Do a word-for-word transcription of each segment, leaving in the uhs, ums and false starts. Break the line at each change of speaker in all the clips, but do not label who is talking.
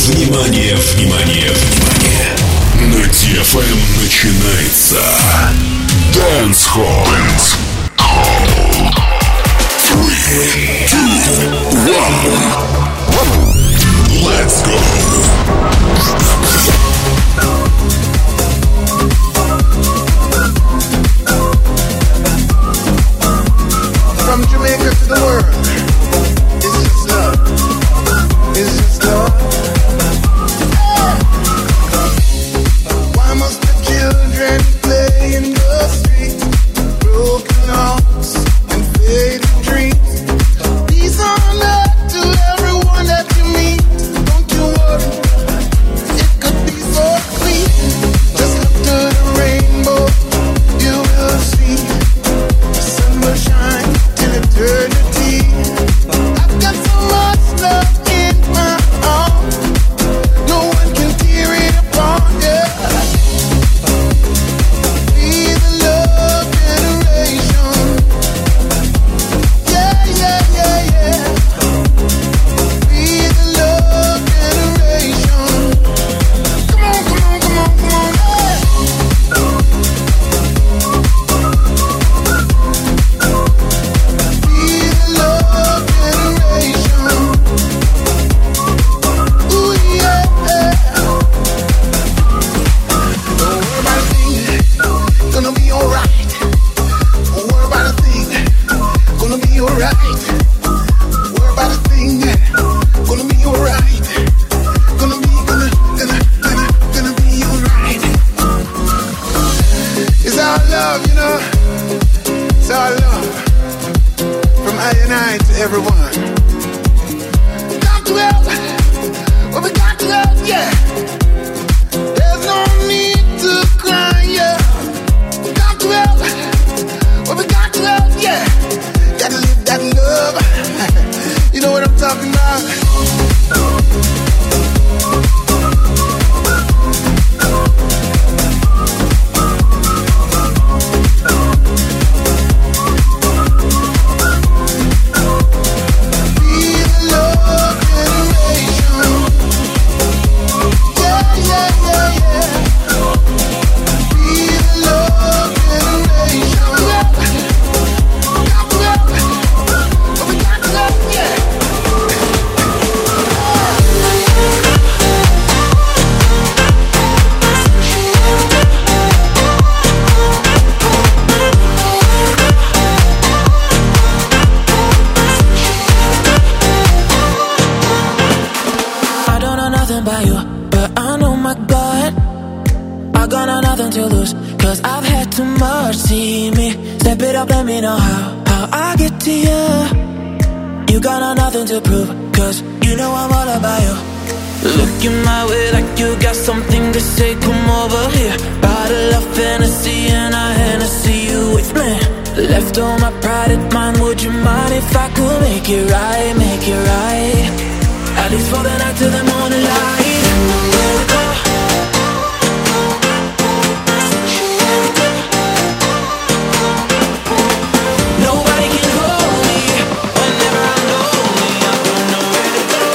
Внимание, внимание, внимание! На ди эф эм начинается Dance Hall. Dance Hall. Three, two, one. Let's go.
From Jamaica to the world, it's just love, it's just love. Why must the children play in the streets? Broken hearts and faded dreams. Peace on earth to everyone that you meet. Don't you worry, it could be so clean. Just look to the rainbow, you will see. The sun will shine till eternity. I've got so much love in my heart, no one can tear it apart, yeah. Be the love generation, yeah, yeah, yeah, yeah. Be the love generation. Come on, come on, come on, come on, yeah. Be the love generation. Ooh, yeah. Don't worry about a thing, gonna be alright. Don't worry about a thing, gonna be alright. Worry about a thing, gonna be alright. Gonna be, gonna, gonna, gonna, gonna be alright. It's our love, you know. It's our love. From I and I to everyone. Got to help. Well, we got to help, yeah. There's no need to cry, yeah. We got to help. Well, we got to help, yeah. Gotta live that love. You know what I'm talking about? Be the love generation. Yeah, yeah, yeah, yeah. Be the love generation. Got to help. But we got to help, yeah.
I don't know nothing about you, but I know my God. I got no nothing to lose, cause I've had too much. See me, step it up, let me know how, how I get to you. You got no nothing to prove, cause you know I'm all about you. Looking my way like you got something to say, come over here. Bottle of Hennessy and I Hennessy you with me. Left all my pride at mine, would you mind if I could make it right, make it right? At least for the night till the morning light. Where we go? Nobody can hold me whenever I'm lonely. I don't know where to go.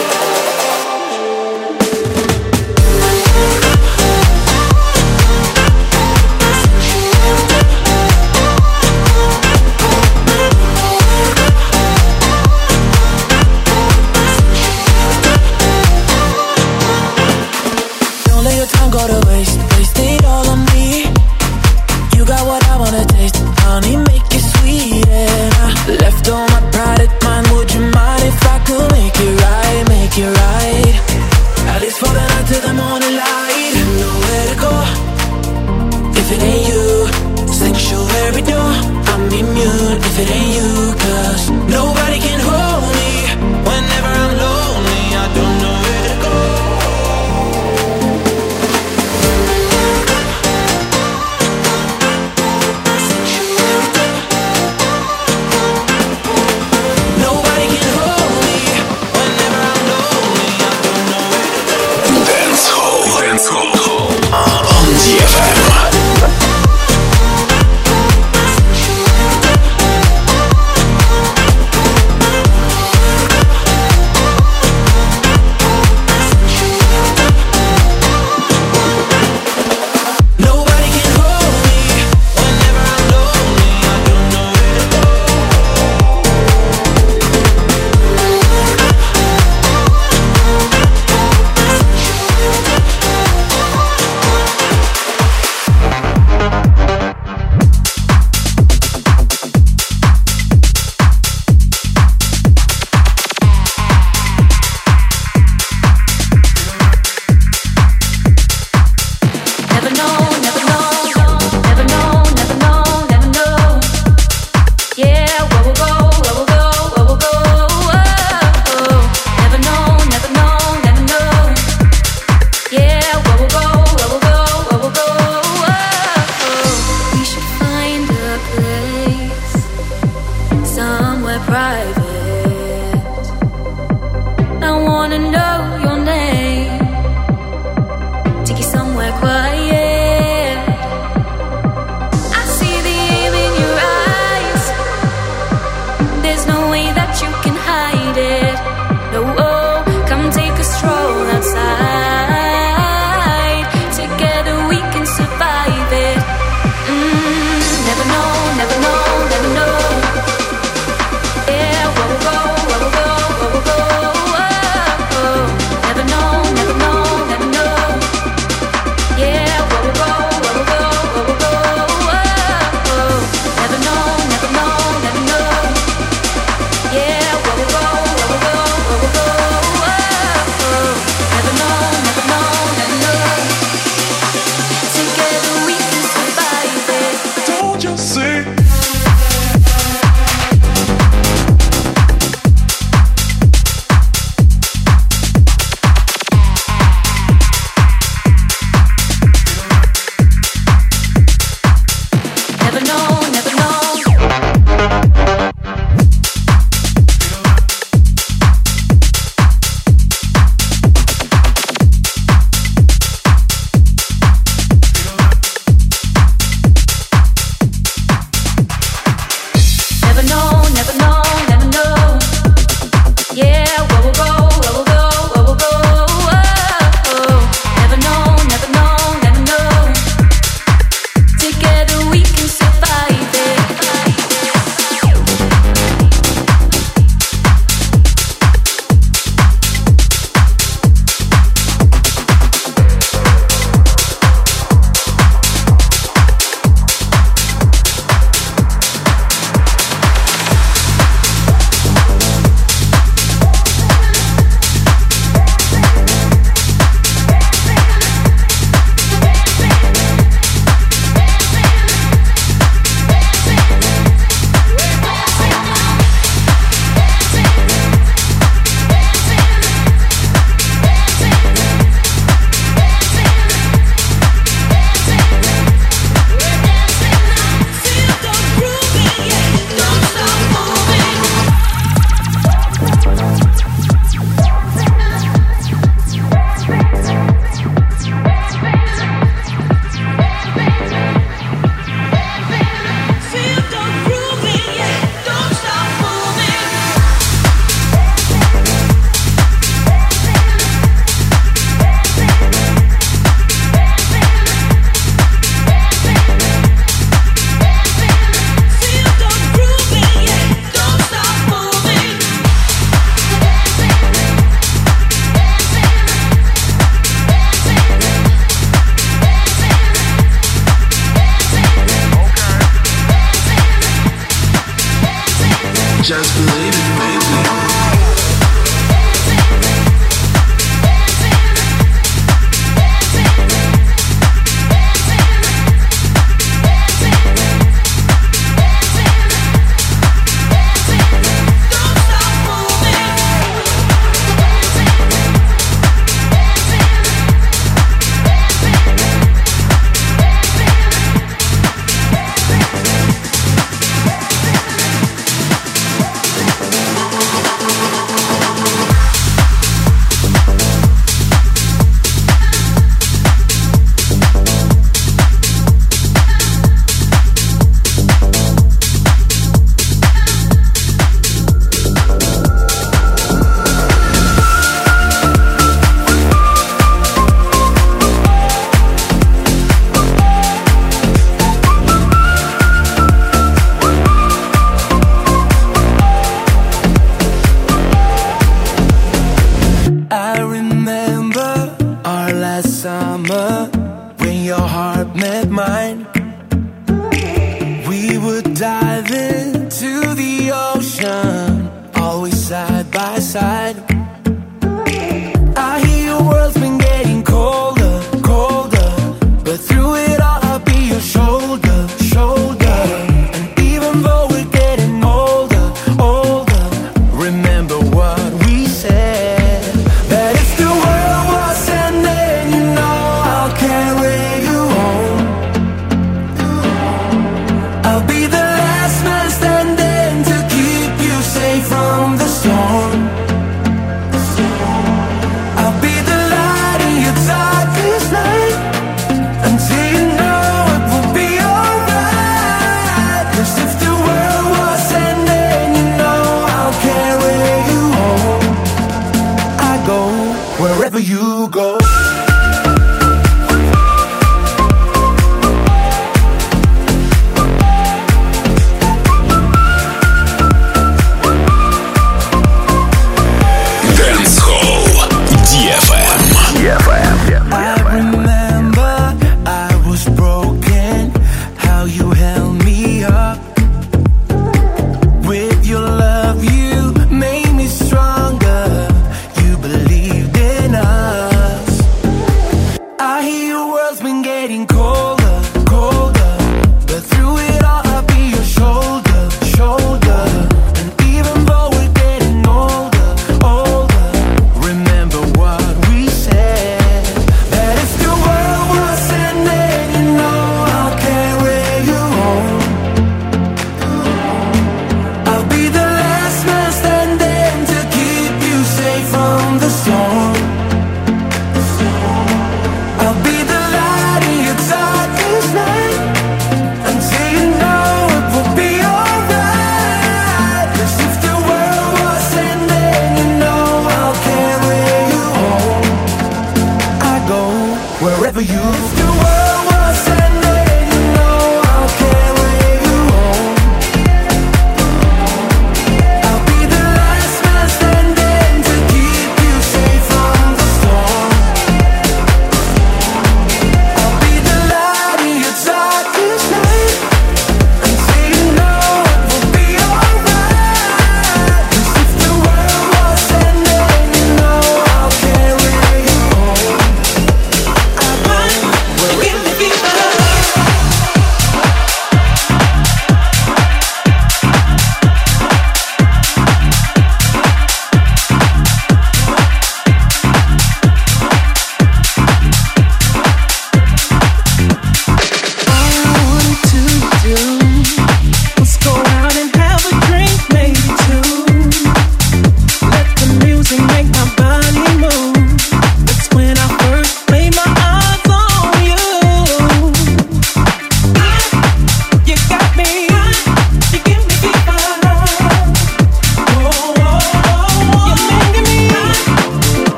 Just believe it, baby.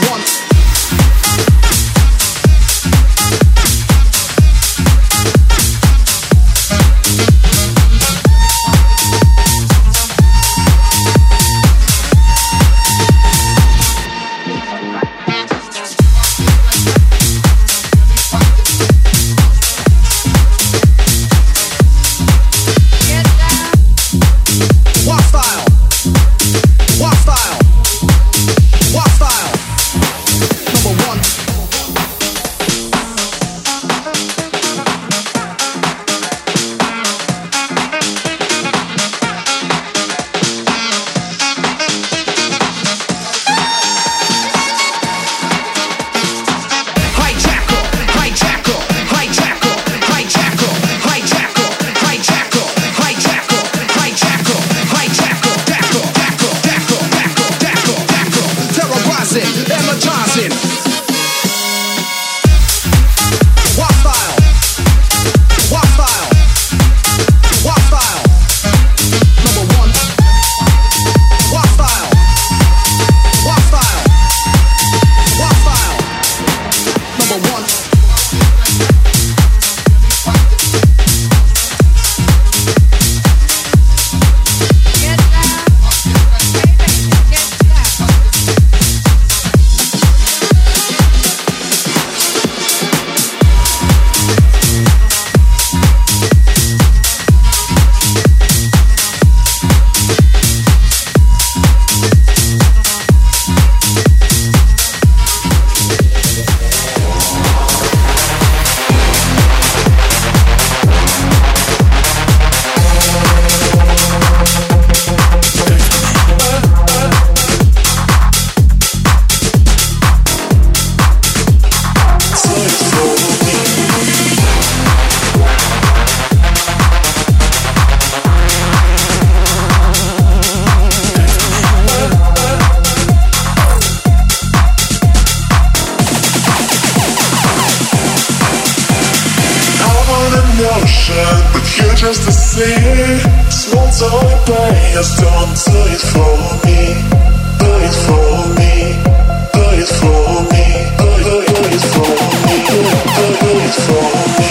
just to see. Small toy players don't do it for me. Do it for me. Do it for me. Do it, do it for me. Do it, do it for me.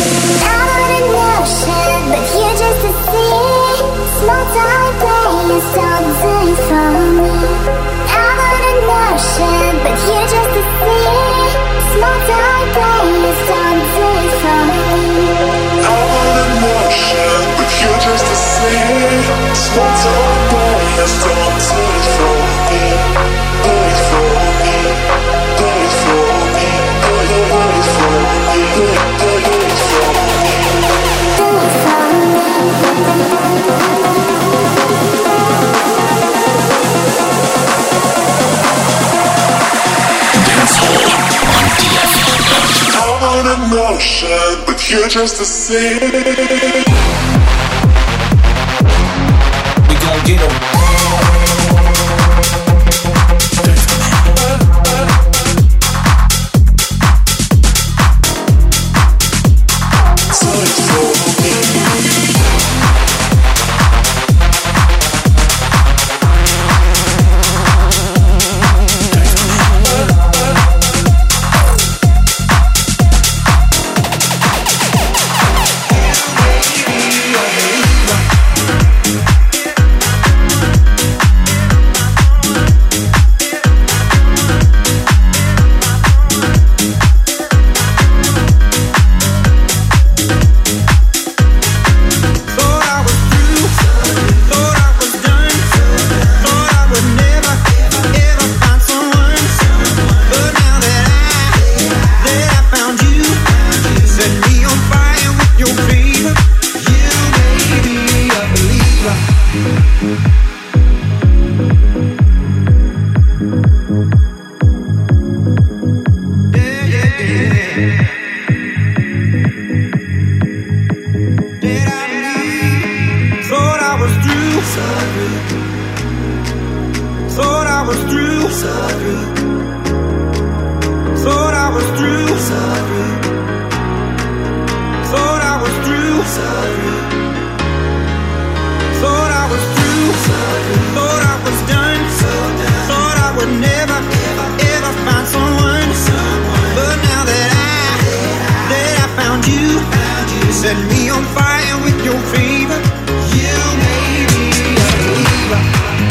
I'm on an ocean, but you're just a sea. Small toy players don't do it for me. I'm on an ocean, but you're just a sea. Small toy players don't do it for me.
I'm on an ocean, but you're just a sea. Small toy players don't do it for me. Do it for me. Do it for me. Do it, do it for me. Do it, do it for me.
Do it for
I'm on an ocean, but you're just a sea.
We gon' get 'em.
Thought I was done, thought I would never, ever
Set me on fire with your fever. You made me a believer.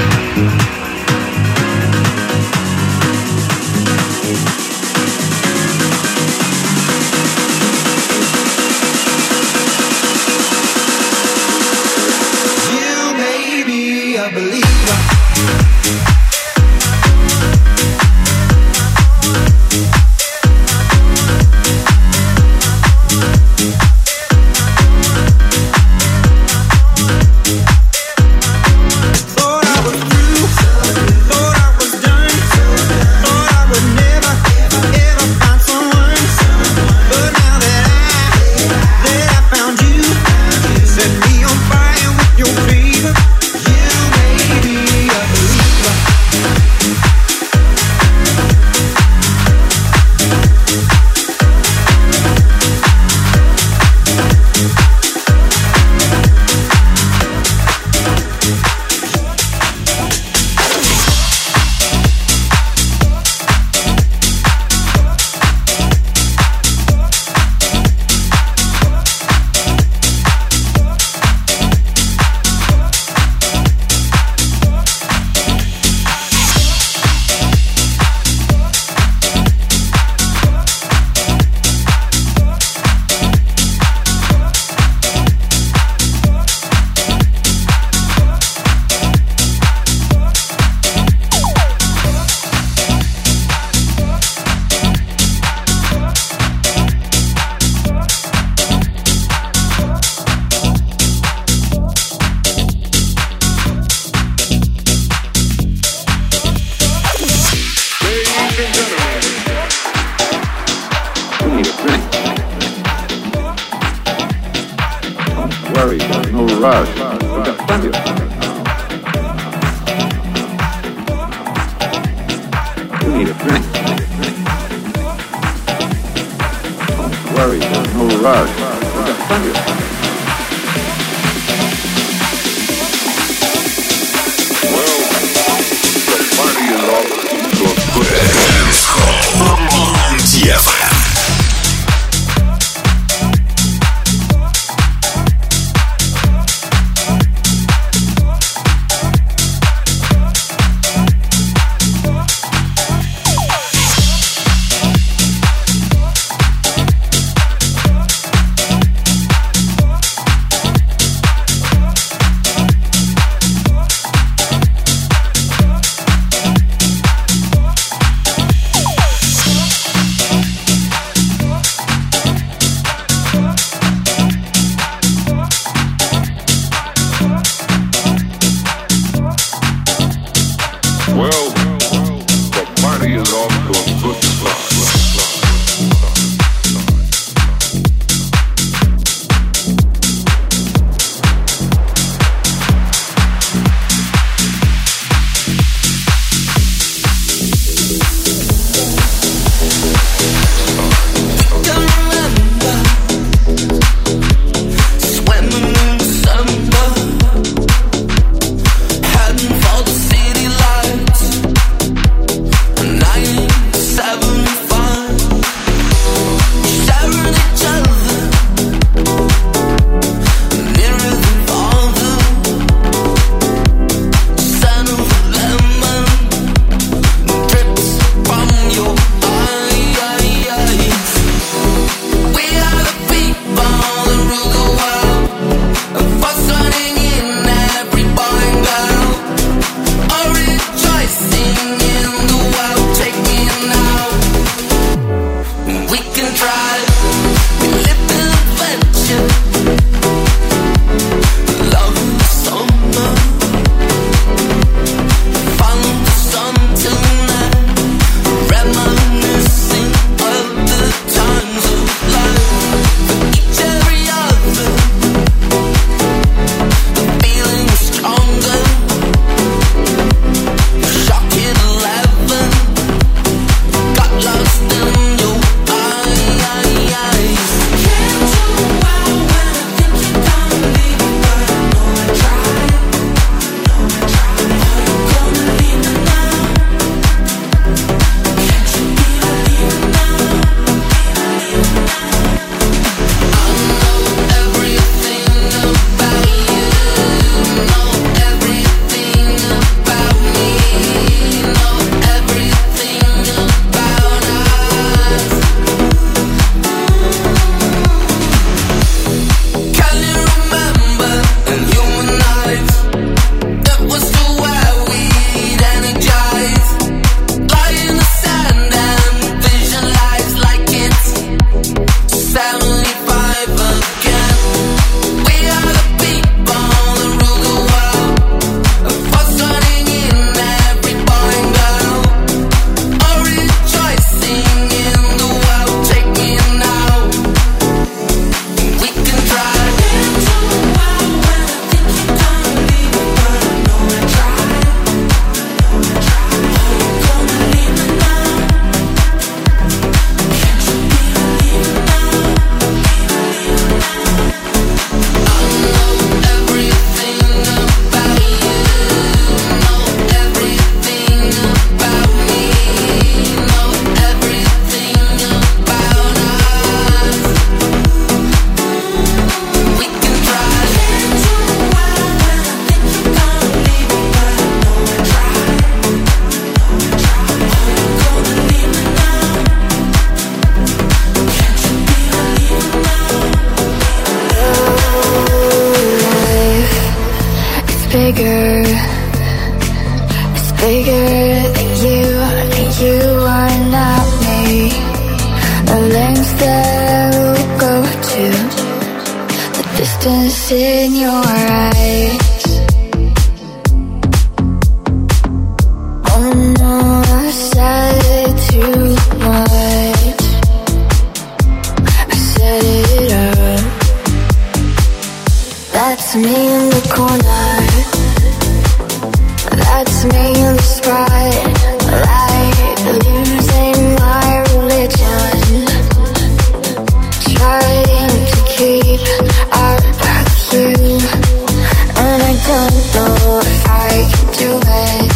You made me a believer.
distance in your eyes. Oh no, I said it too much. I set it up. That's me in the corner. That's me in the spotlight, losing my religion, trying to keep up with you, and I don't know if I can do it.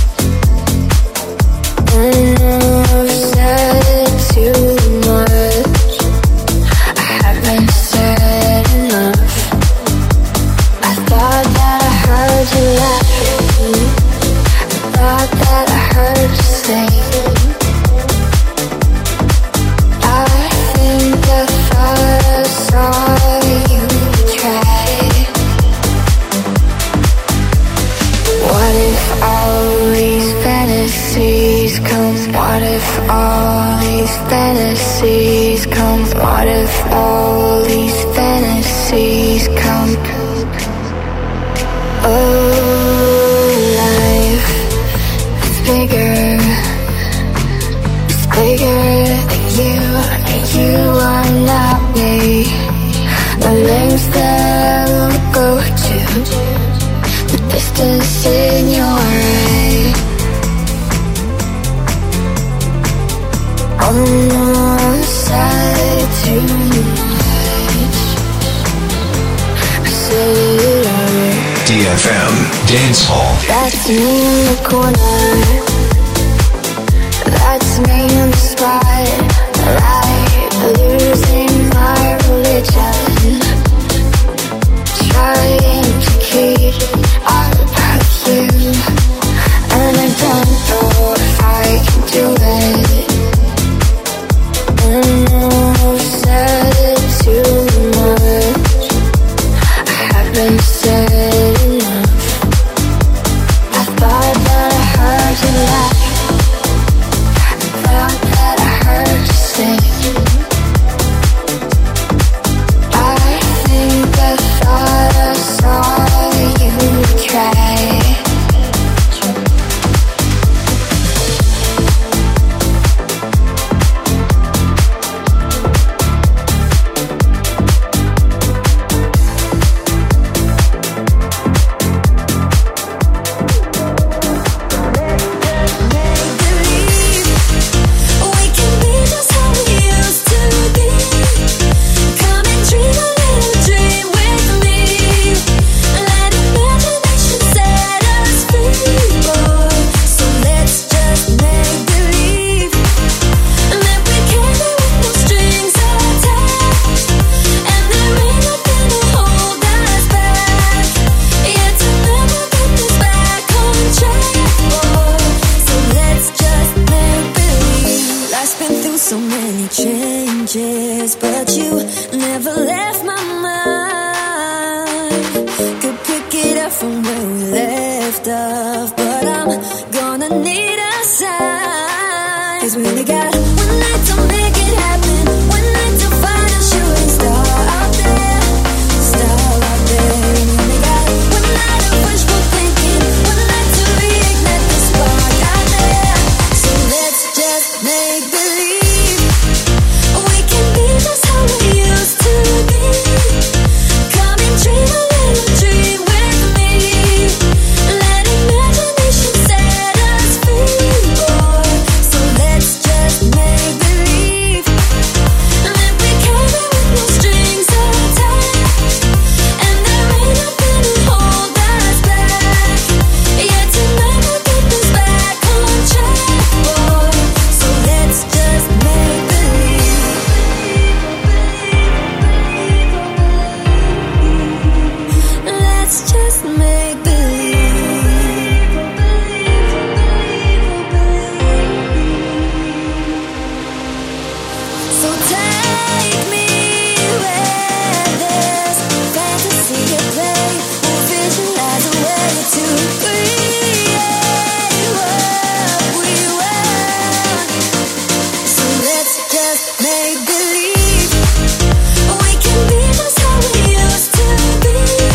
And I've said too much. I haven't said enough. I thought that I heard you laughing. I thought that I heard you sing. I think I thought I saw you try. What if all these fantasies come? What if all these fantasies come? What if all these fantasies come? Oh, life is bigger. It's bigger than you, and you are not me. The lengths that will go to, the distance in your eye. Oh no, I said too much. I said it all.
D F M Dance Hall.
That's me in the corner. That's me in the spotlight, losing my religion, trying to keep up with you, and I don't know if I can do it. And I've said it too much. I haven't said enough. I thought that I heard you laugh. I thought that I heard you sing. I think I thought I saw you try.
So many changes, but you never left my mind. Could pick it up from where we left off, but I'm gonna need a sign. 'Cause we only got one night to make it happen, one night to find a shooting star out there, star out there. We only got one night of wishful thinking, one night to reignite the spark out there. So let's just make believe. Just how we used to be. Come and dream a little dream with me. Let imagination set us free, boy. So let's just make believe that we carry with no strings attached, and there ain't nothing to hold us back. Yeah, tonight we'll get this back on track, boy. So let's just make believe. Let's just make believe. So take me where there's fantasy at play. We'll visualize a way to create what we want. So let's just make believe we can be just how we used to be.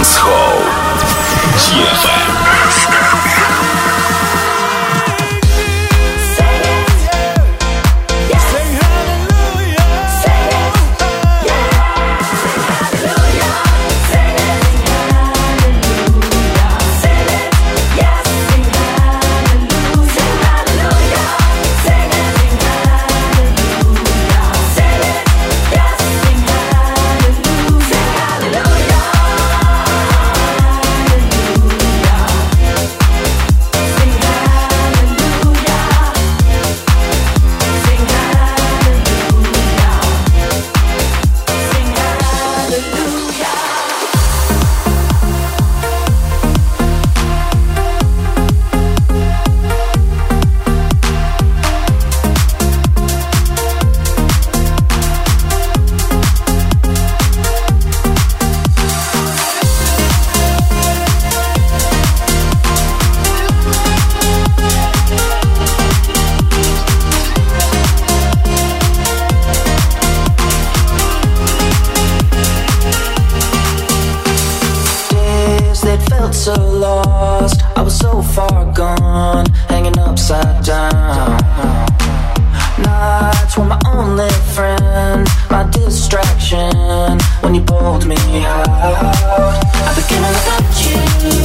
Dance Hall. ди эф эм.
So lost, I was so far gone, hanging upside down. Nights were my only friend, my distraction, when you pulled me out. I became all about you,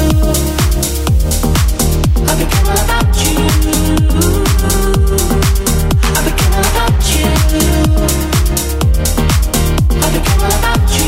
I became all about you, I became all about you, I became all about you.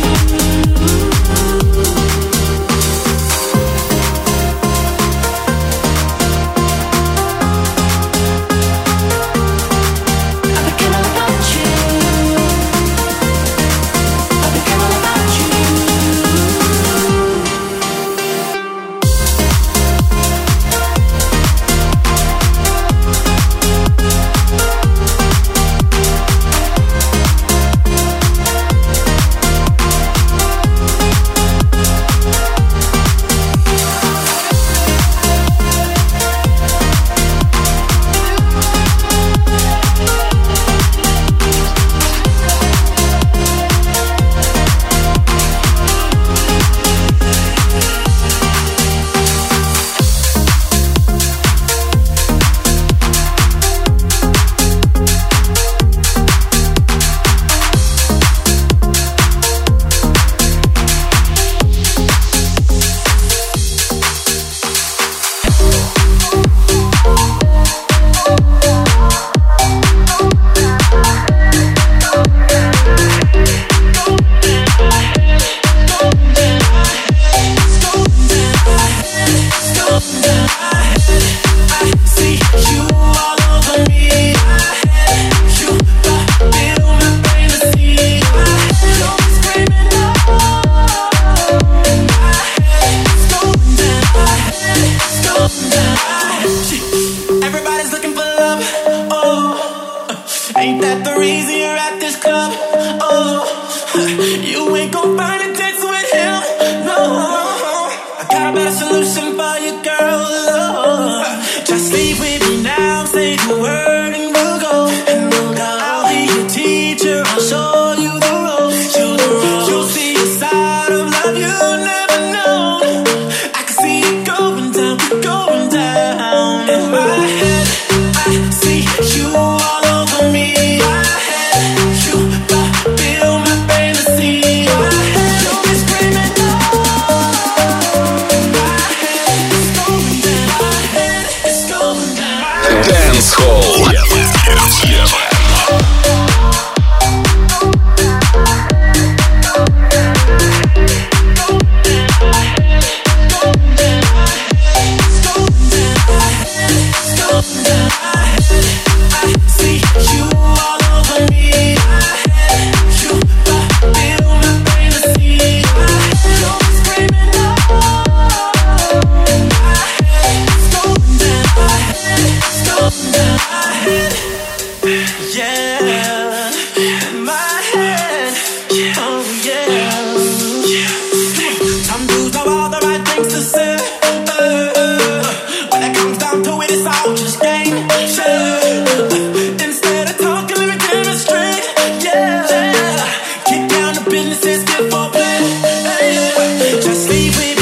Just leave me.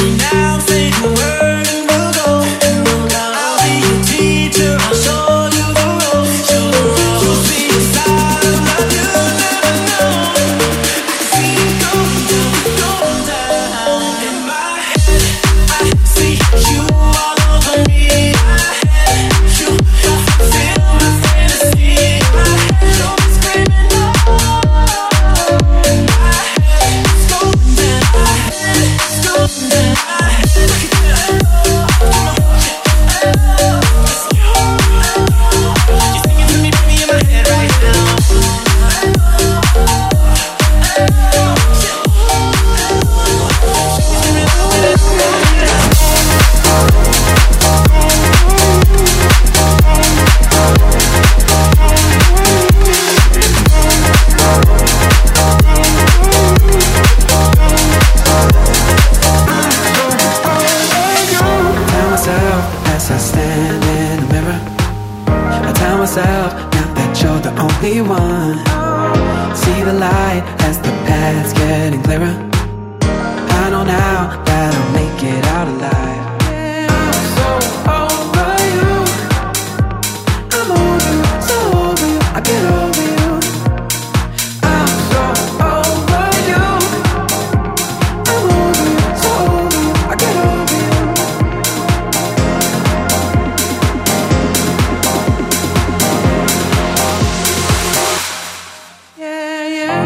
one. See the light as the path's getting clearer. I know now that I'll make it out alive. I'm so over you. I'm over you, so over you. I get over you. I'm so over you. I'm over you, so over you. I get over you. Yeah, yeah.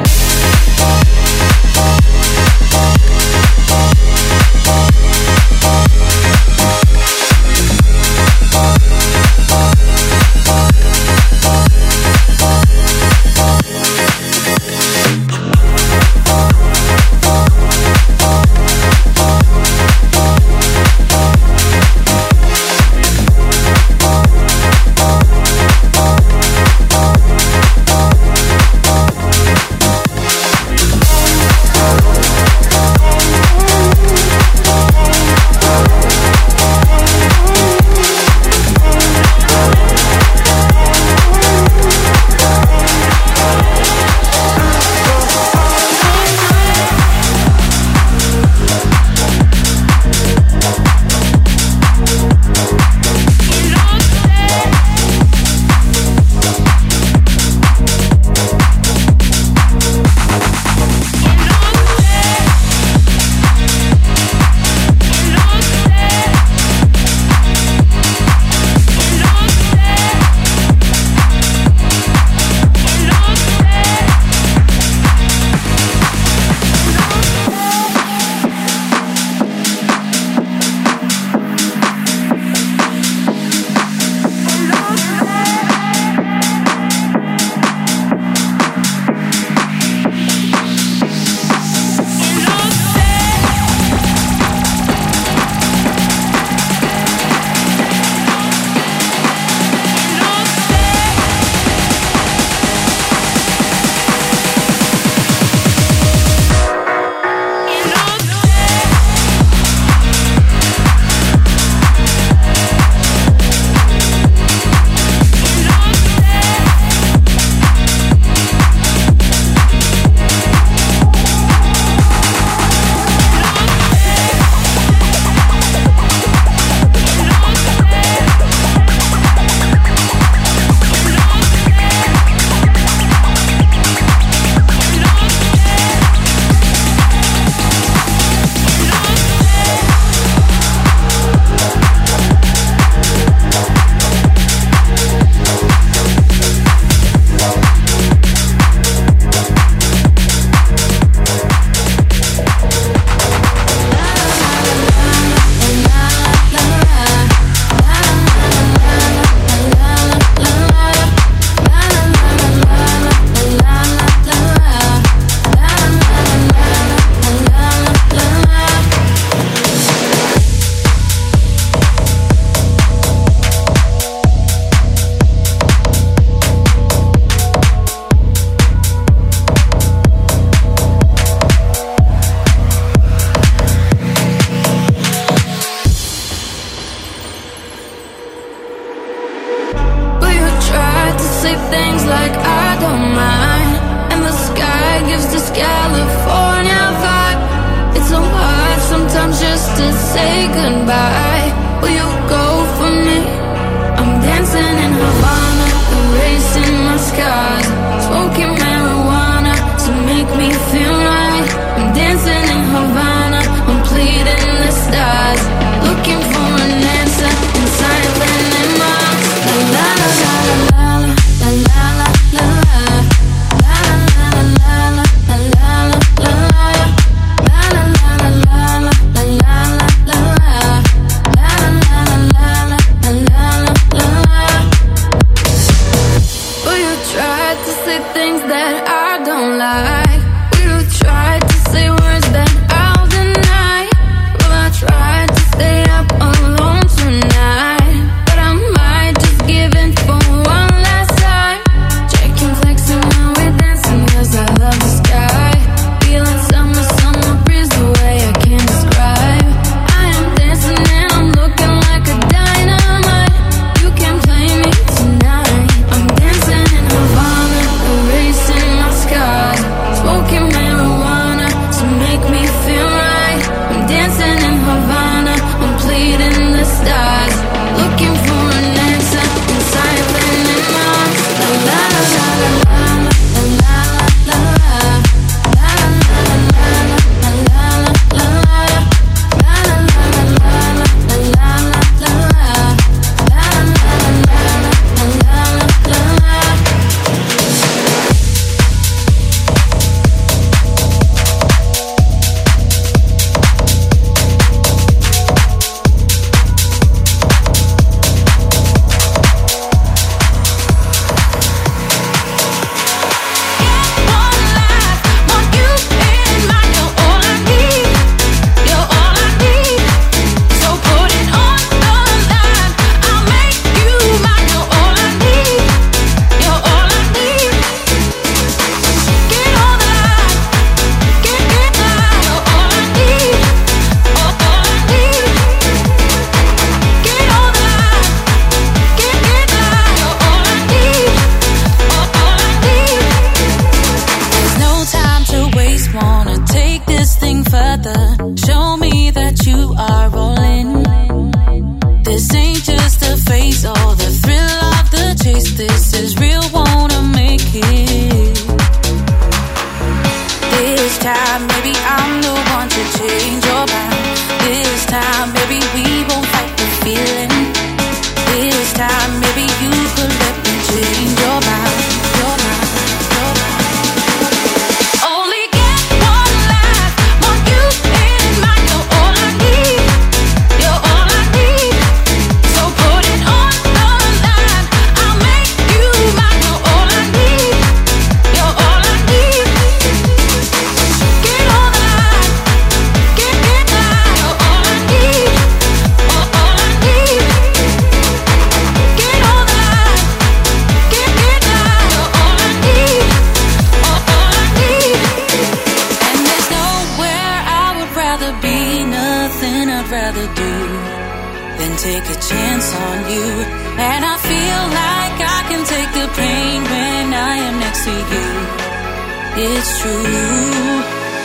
to you. It's true.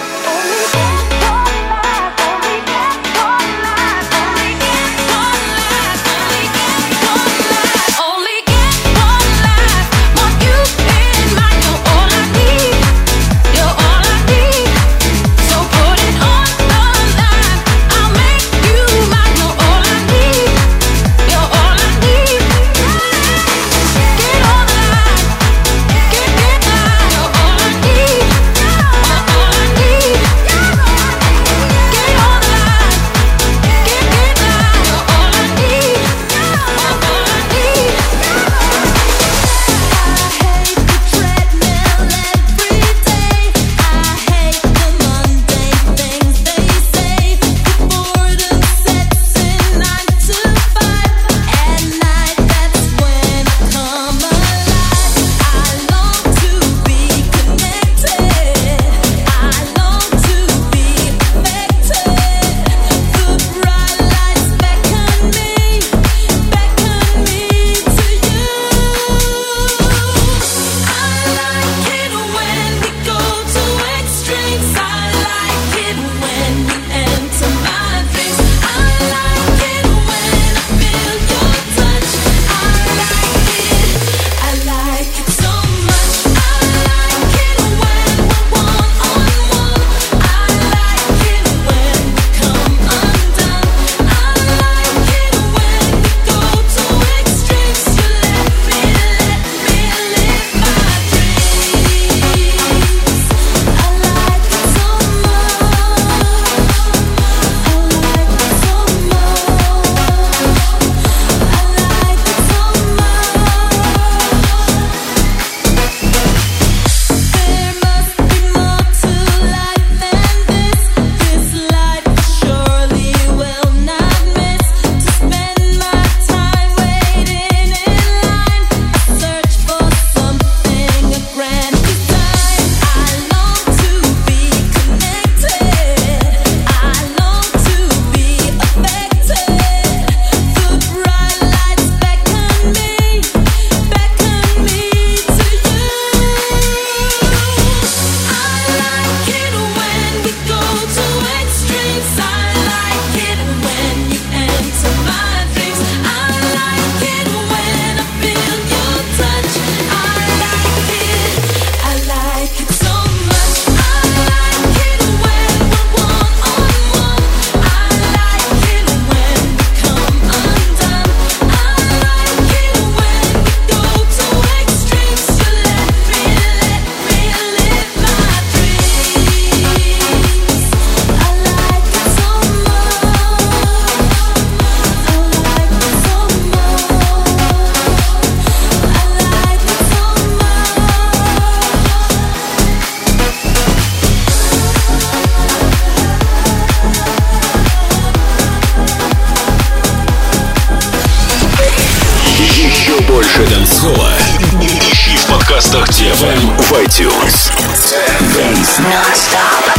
Ищи в подкастах ти эф эм в iTunes. Dance Non-Stop.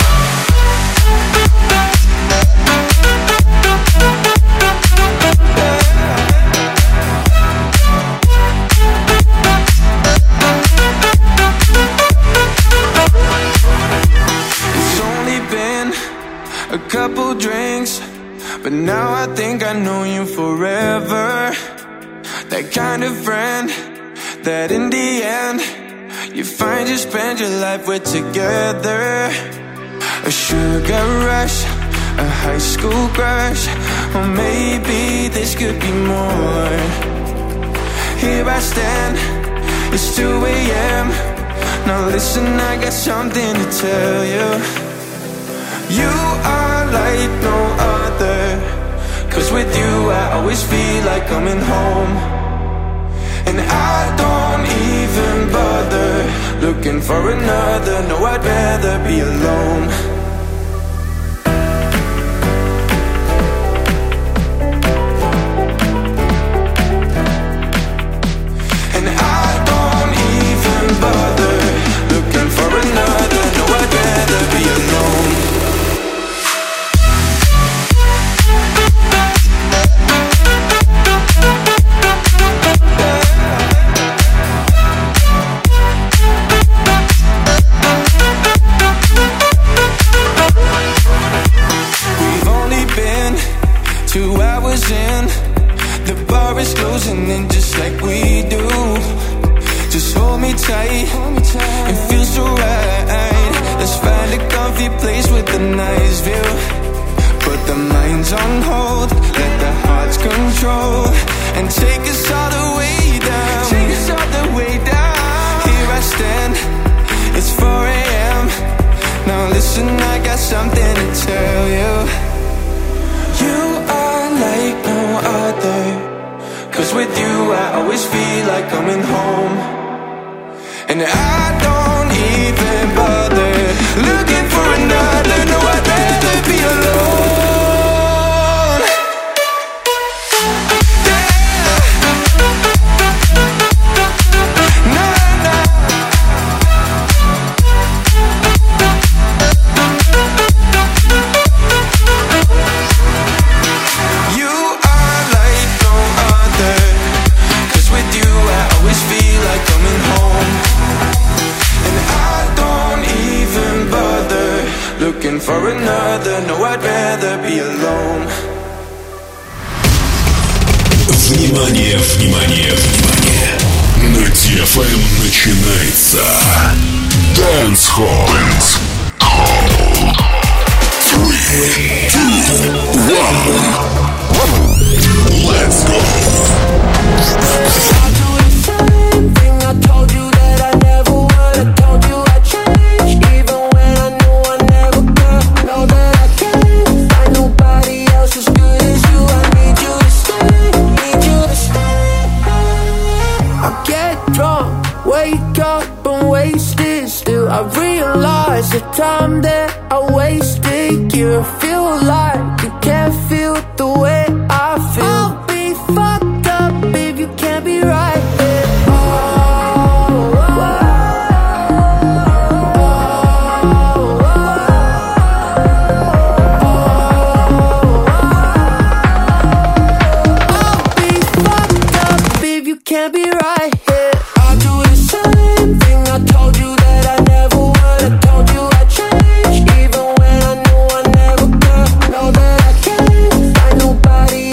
A couple drinks, but now I think I know you forever. That kind of friend that in the end you find you spend your life with together. A sugar rush, a high school crush, or maybe this could be more. Here I stand, it's two a.m. Now listen, I got something to tell you. You are like no other, 'cause with you I always feel like coming home. And I don't even bother looking for another. No, I'd rather be alone. And I don't even bother looking for another. No, I'd rather be alone. something to tell you. You are like no other, 'cause with you I always feel like coming home. And I don't even bother looking for another. No, I'd rather be alone. Looking for another, no, I'd rather be alone.
Внимание, внимание, внимание! На ти эф эм начинается Dance Hall. Dance Hall. Three, two, one. Let's go.
I'll do the same thing I told you that I never would. I told you I'd change, even when I knew I never could. Know that I can't find nobody else as good as you. I need you to stay, need you to stay. I get drunk, wake up and wasted still. I realize the time that I wasted. You feel like you can't feel the way I feel. I'll be fucked up if you can't be right here. Can't be right here. I'll do the same thing I told you that I never would. I told you I'd change, even when I knew I never could. Know that I can't find nobody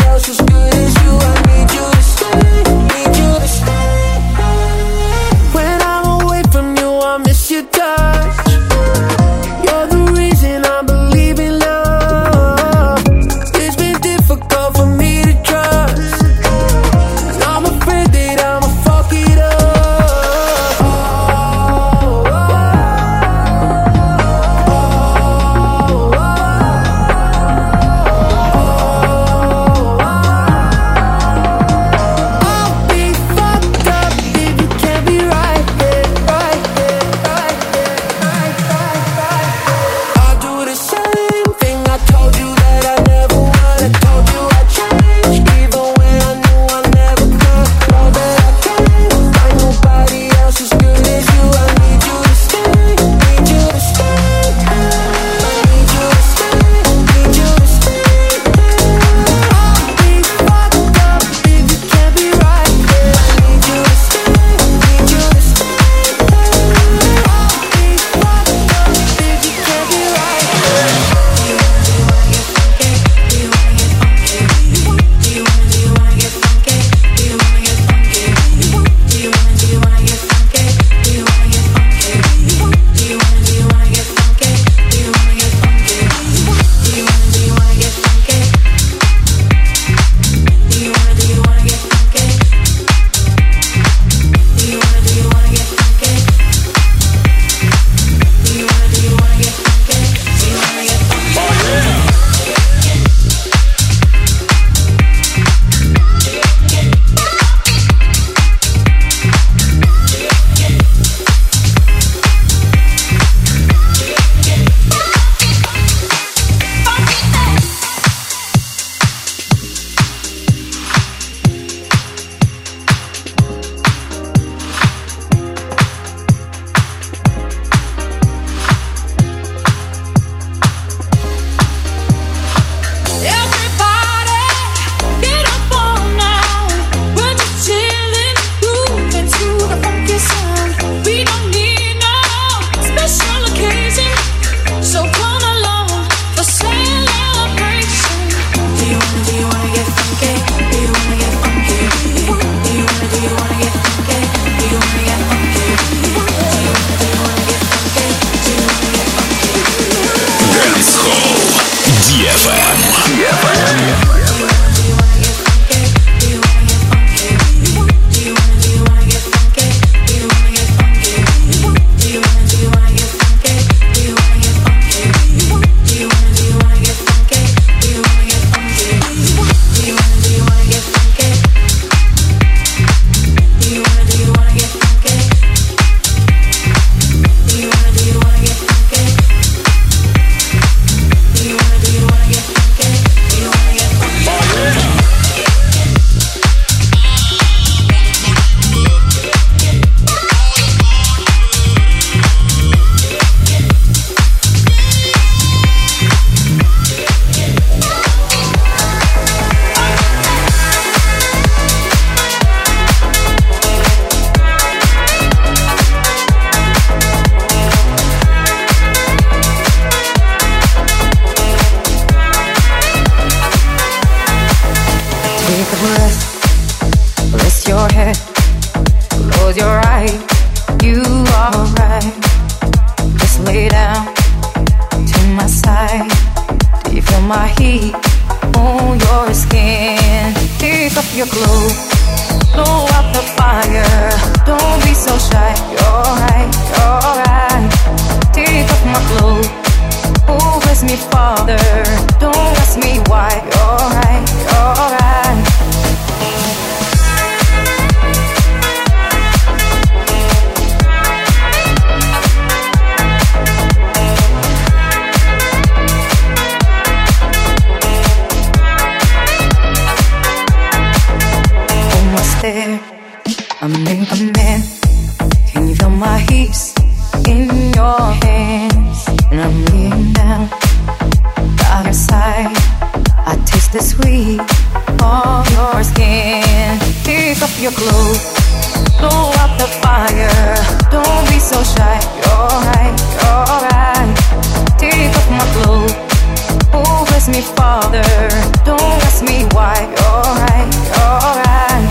in your hands, and I'm laying down by your side. I taste the sweet of your skin. Take off your clothes, blow out the fire. Don't be so shy. You're right, you're right. Take off my clothes, oh bless me, Father. Don't ask me why. You're right, you're right.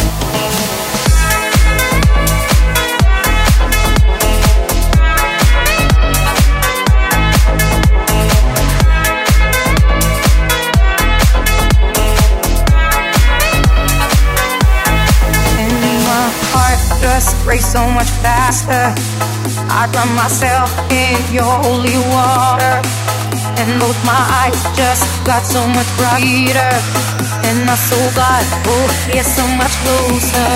Just race so much faster. I drown myself in your holy water, and both my eyes just got so much brighter, and my soul got, oh, yeah, so much closer.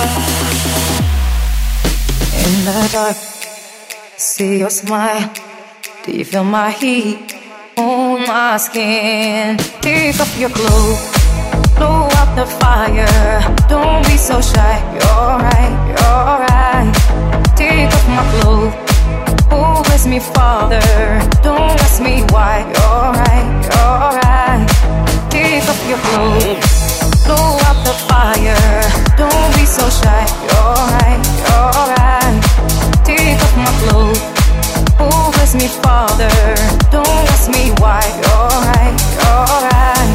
In the dark, see your smile. Do you feel my heat on my skin? Take off your clothes, blow out the fire. Don't be so shy. You're right, you're right. Take off my clothes, oh bless me, Father. Don't ask me why. You're right, you're right. Take off your clothes, blow out the fire. Don't be so shy. You're right, you're right. Take off my clothes, oh bless me, Father. Don't ask me why. You're right, you're right.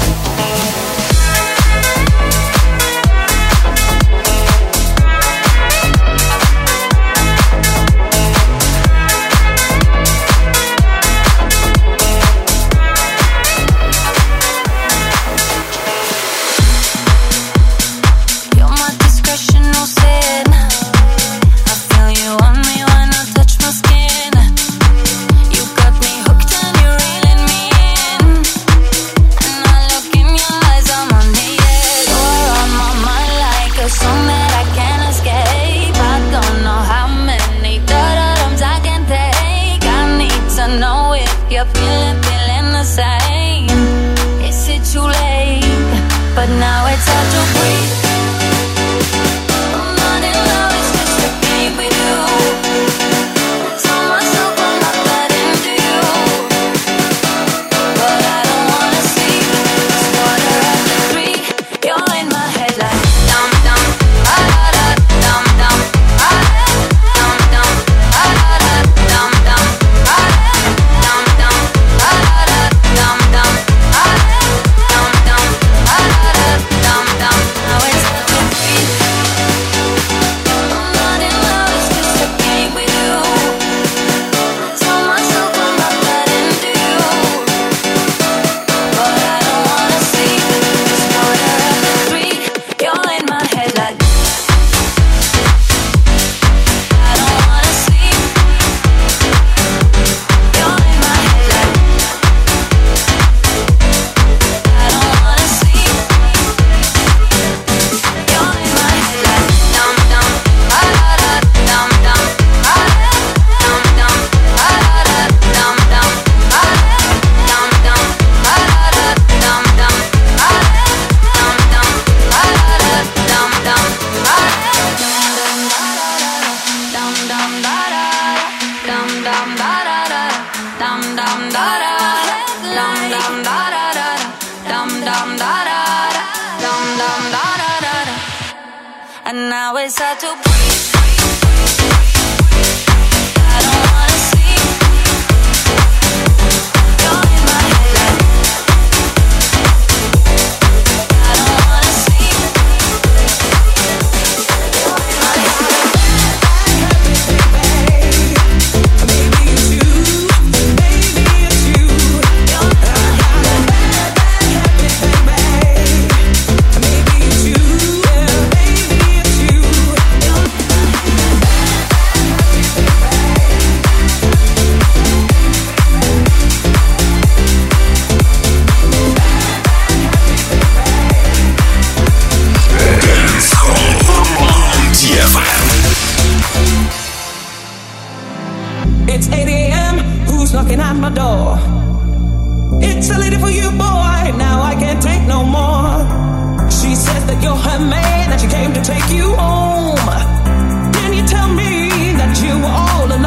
And now it's hard to breathe. I don't wanna sleep. You're in my head. I don't wanna sleep. You're in my head. Maybe it's you. Maybe it's you. You're in my head. Maybe it's you.
It's eight a.m. Who's knocking at my door? It's a lady for you, boy. Now I can't take no more. She says that you're her man and she came to take you home. Can you tell me that you were all alone?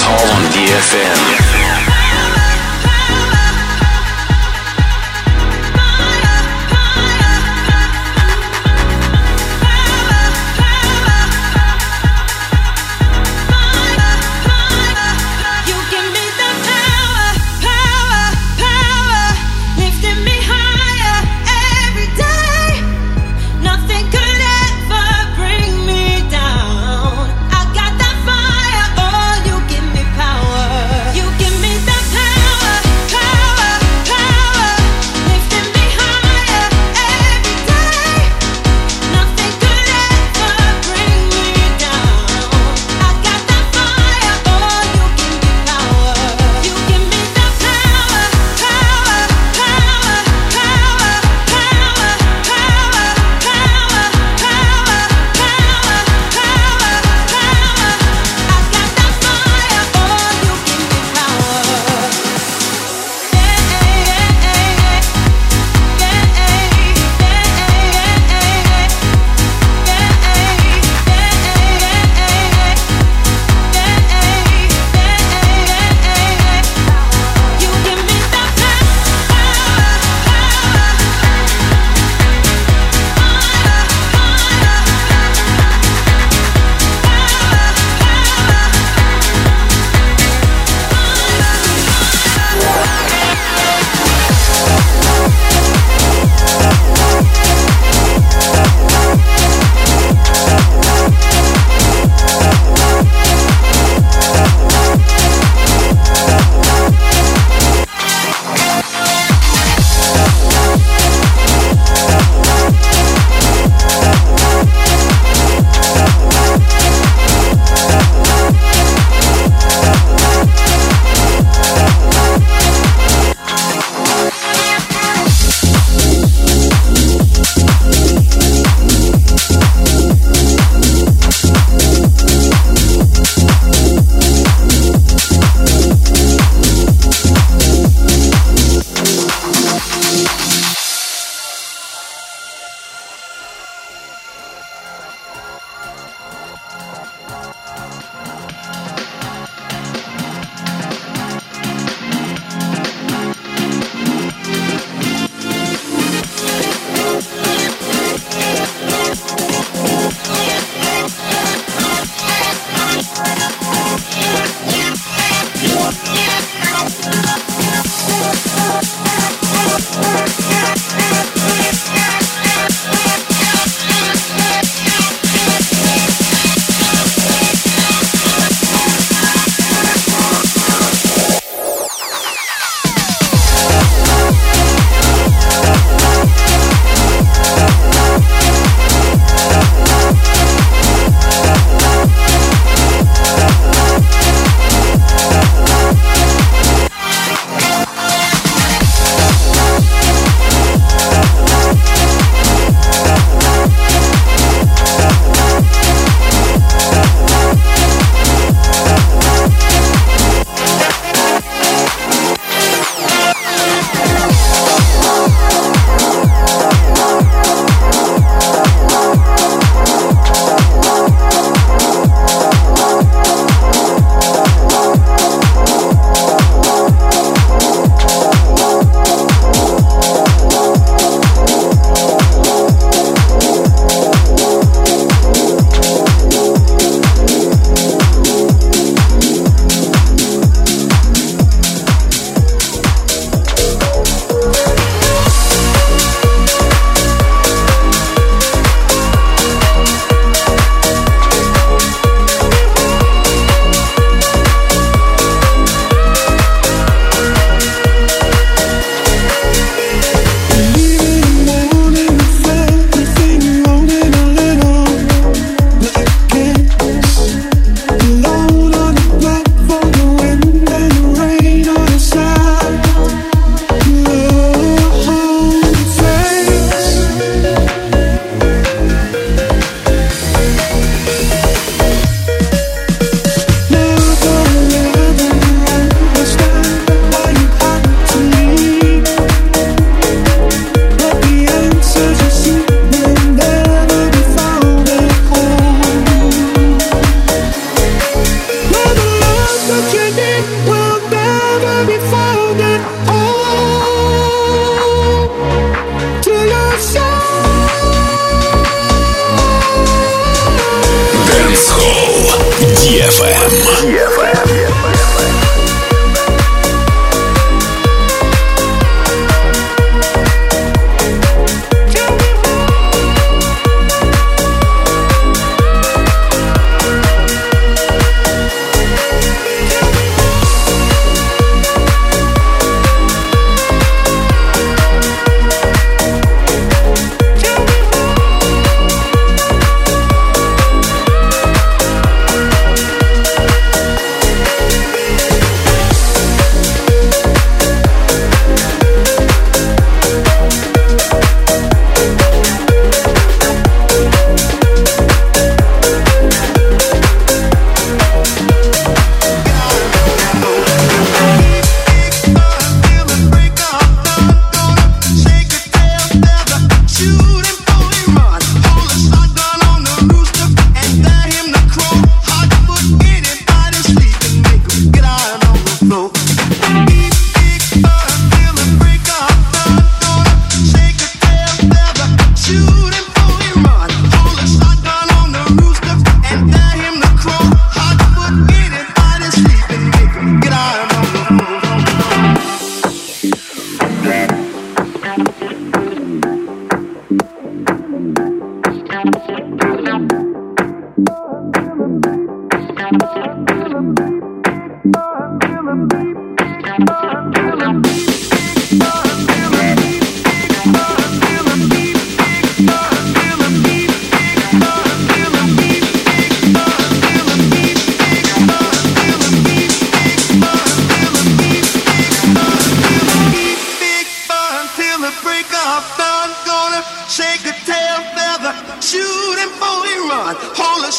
Hall on D F M.
You give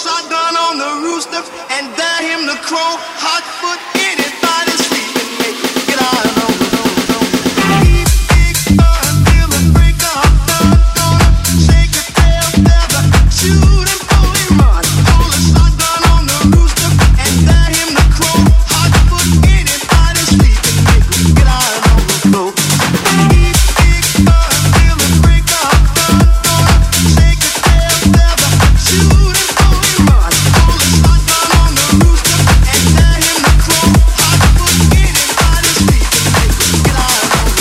shotgun on the rooster and dare him to crow. Hot foot anybody sleeping, make him get out of the room. Keep big until the break of dawn. Gonna shake your tail feather, shoot and fully run. Hold a shotgun on the rooster and dare him to crow. Hot foot anybody sleeping, make him get out of the room. Keep big until the break of dawn. Gonna shake your tail feather, shoot and fully run. Hold a shotgun on the rooster and dare him to crow. Hot foot anybody sleeping, make him get out of the room.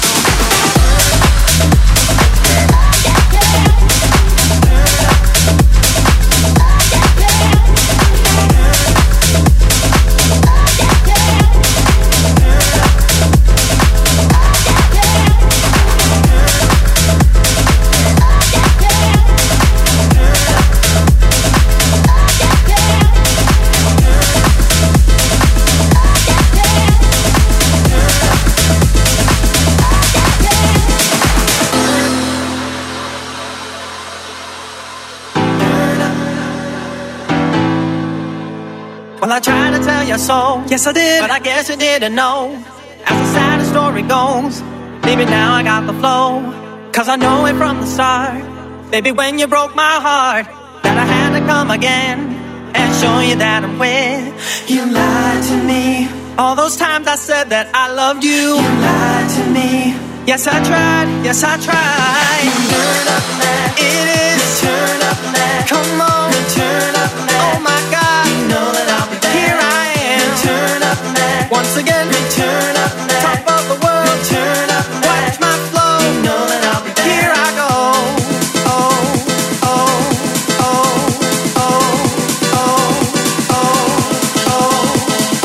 Well, I tried to tell you so, yes I did, but I guess you didn't know. As the sad story goes, maybe now I got the flow. Cause I know it from the start, baby, when you broke my heart, that I had to come again and show you that I'm with. You lied to me, all those times I said that I loved you. You lied to me, yes I tried, yes I tried. Turn up now, it is turn up now. Come on, turn up now. Oh my God, you know that I'll be there. Here I am, turn up now. Once again, turn up now. Top of the world, turn up now. Watch my flow, you know that I'll be there. Here I go. Oh, oh, oh, oh, oh, oh, oh,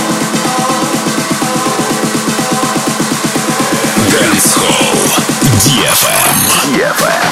oh.
Dance Hall ди эф эм. ди эф эм.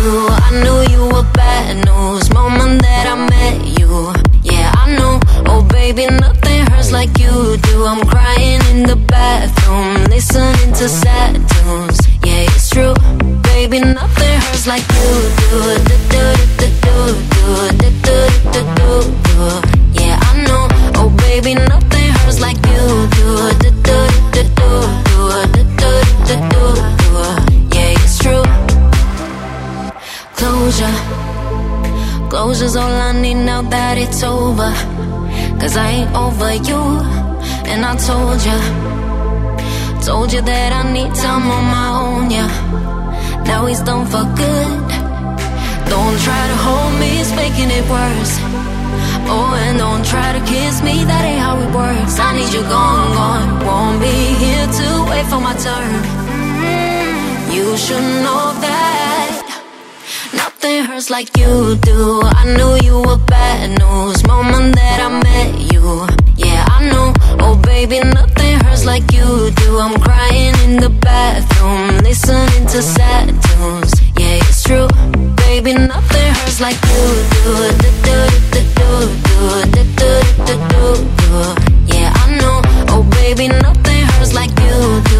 do. I knew you were bad news moment that I met you. Yeah, I know. Oh baby, nothing hurts like you do. I'm crying in the bathroom, listening to sad tunes. Yeah, it's true. Baby, nothing hurts like you do. Yeah, I know. Oh baby, nothing hurts like you do. Yeah, it's true. Closure, closure's all I need now that it's over. Cause I ain't over you. And I told ya, told you that I need time on my own, yeah. Now he's done for good. Don't try to hold me, it's making it worse. Oh, and don't try to kiss me, that ain't how it works. I need you gone, gone. Won't be here to wait for my turn. You should know that nothing hurts like you do. I knew you were bad news moment that I met you. Yeah, I know. Oh baby, nothing hurts like you do. I'm crying in the bathroom, listening to sad tunes. Yeah, it's true. Baby, nothing hurts like you do. Yeah, I know. Oh baby, nothing hurts like you do.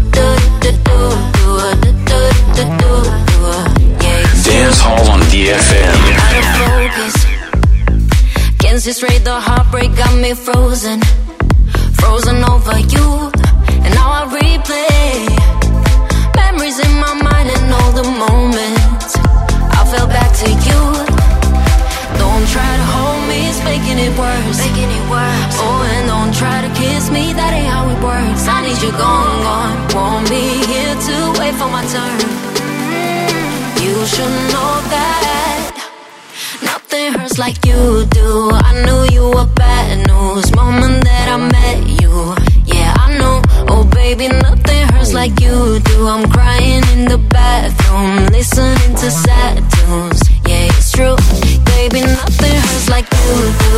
Dance Hall on D F M.
Out of focus. Can't see straight, the heartbreak got me frozen. Frozen over you. And now I replay memories in my mind and all the moments I fell back to you. Don't try to hold me, it's making it worse. Making it worse. Oh, and don't try to kiss me, that ain't how it works. I need you gone, gone. Won't be here to wait for my turn. You should know that nothing hurts like you do. I knew you were bad news moment that I met you. Yeah, I know. Oh baby, nothing hurts like you do. I'm crying in the bathroom, listening to sad tunes. Yeah, it's true. Baby, nothing hurts like you do.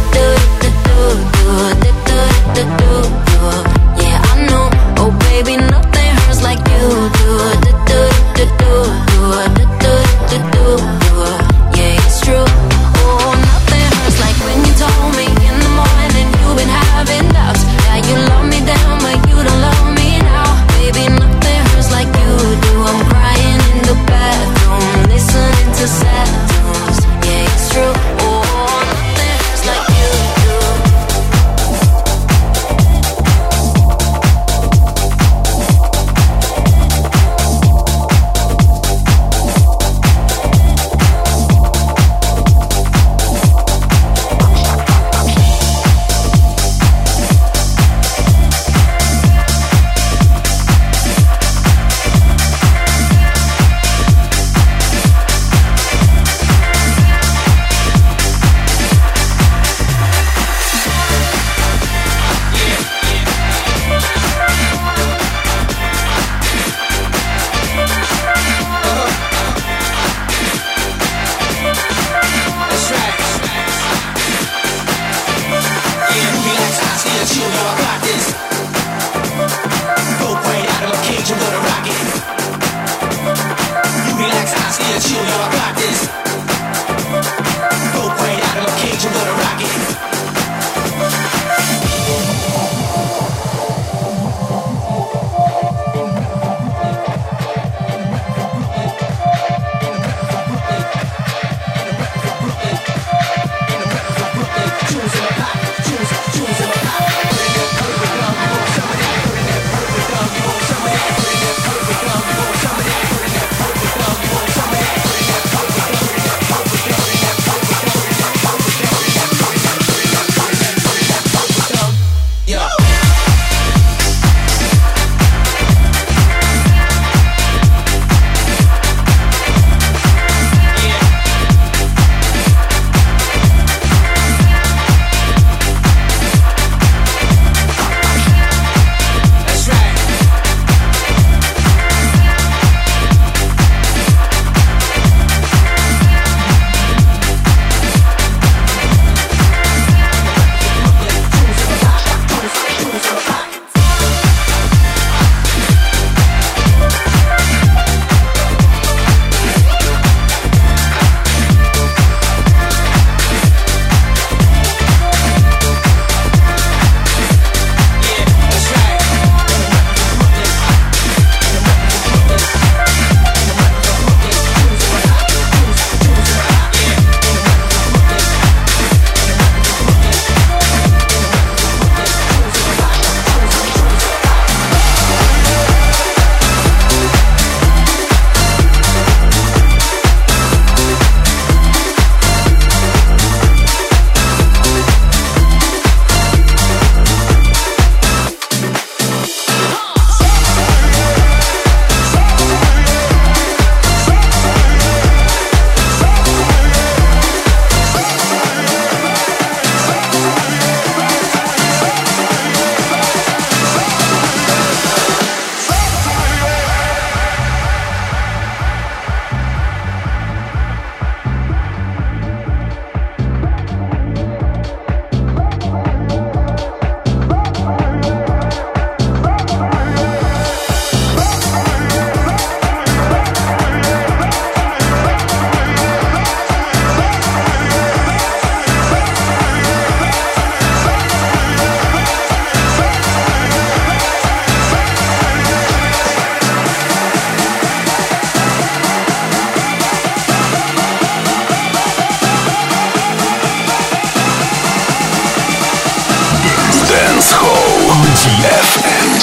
Yeah, I know. Oh baby, nothing hurts like you do. Yeah, it's true. Oh, nothing hurts like when you told me in the morning you've been having doubts. Yeah, you love me then, but you don't love me now. Baby, nothing hurts like you do. I'm crying in the bathroom, listening to sad tunes. Yeah, it's true. Oh, nothing hurts like you do.
эф эм.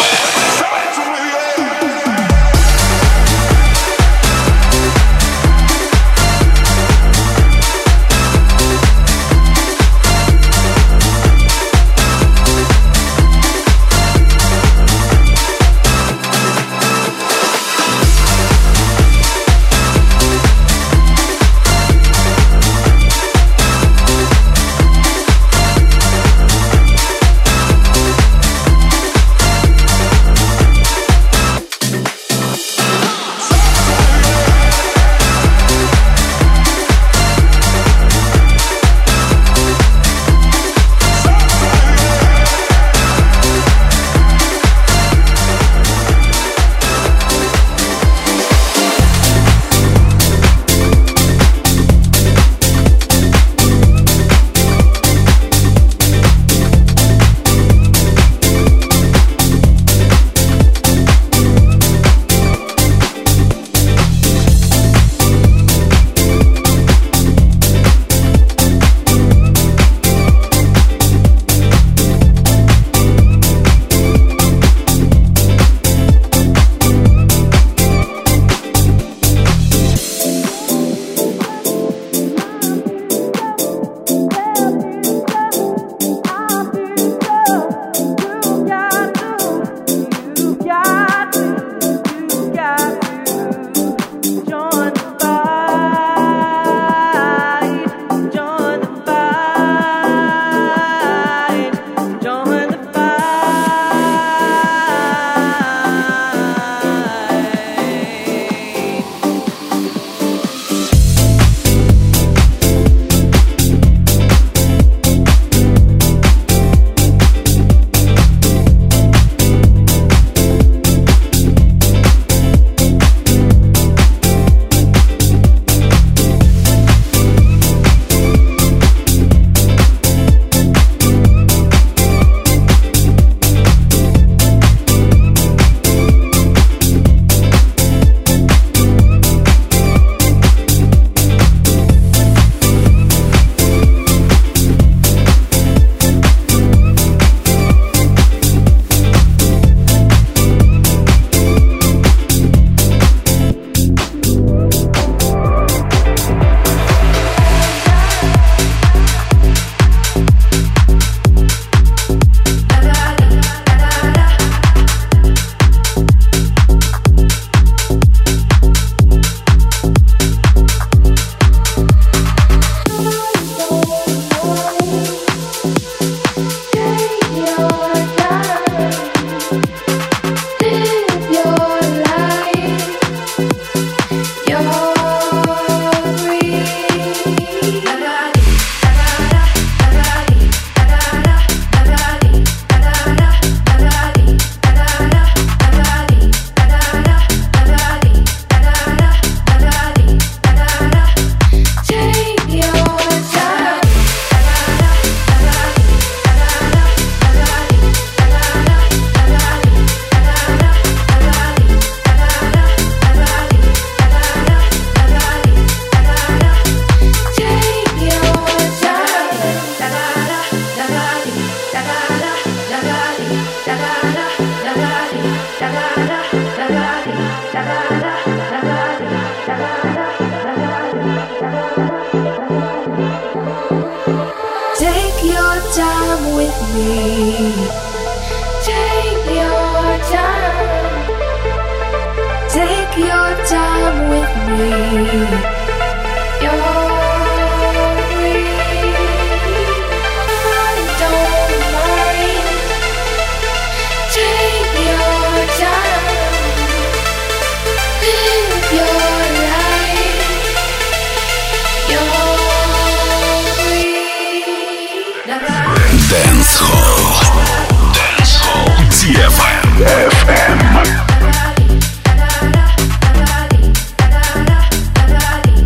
эф эм.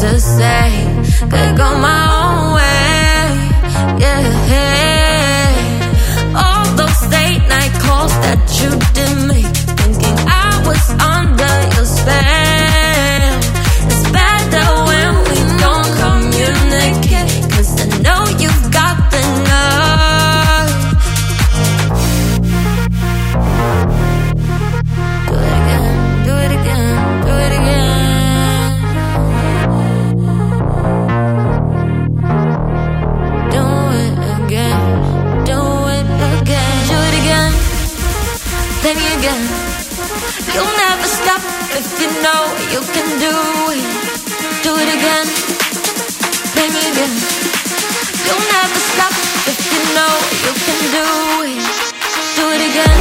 to say. Could go my own way, yeah. All those late night calls that you did make, thinking I was under your spell. It's better when we don't communicate, 'cause I know you've got the nerve. Do it again, do it again, do it again. Do it again, do it again, do it again. Then again, you'll never stop if you know you can do it. Do it again, then again. You'll never stop if you know you can do it. Do it again.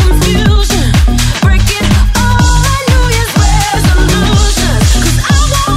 I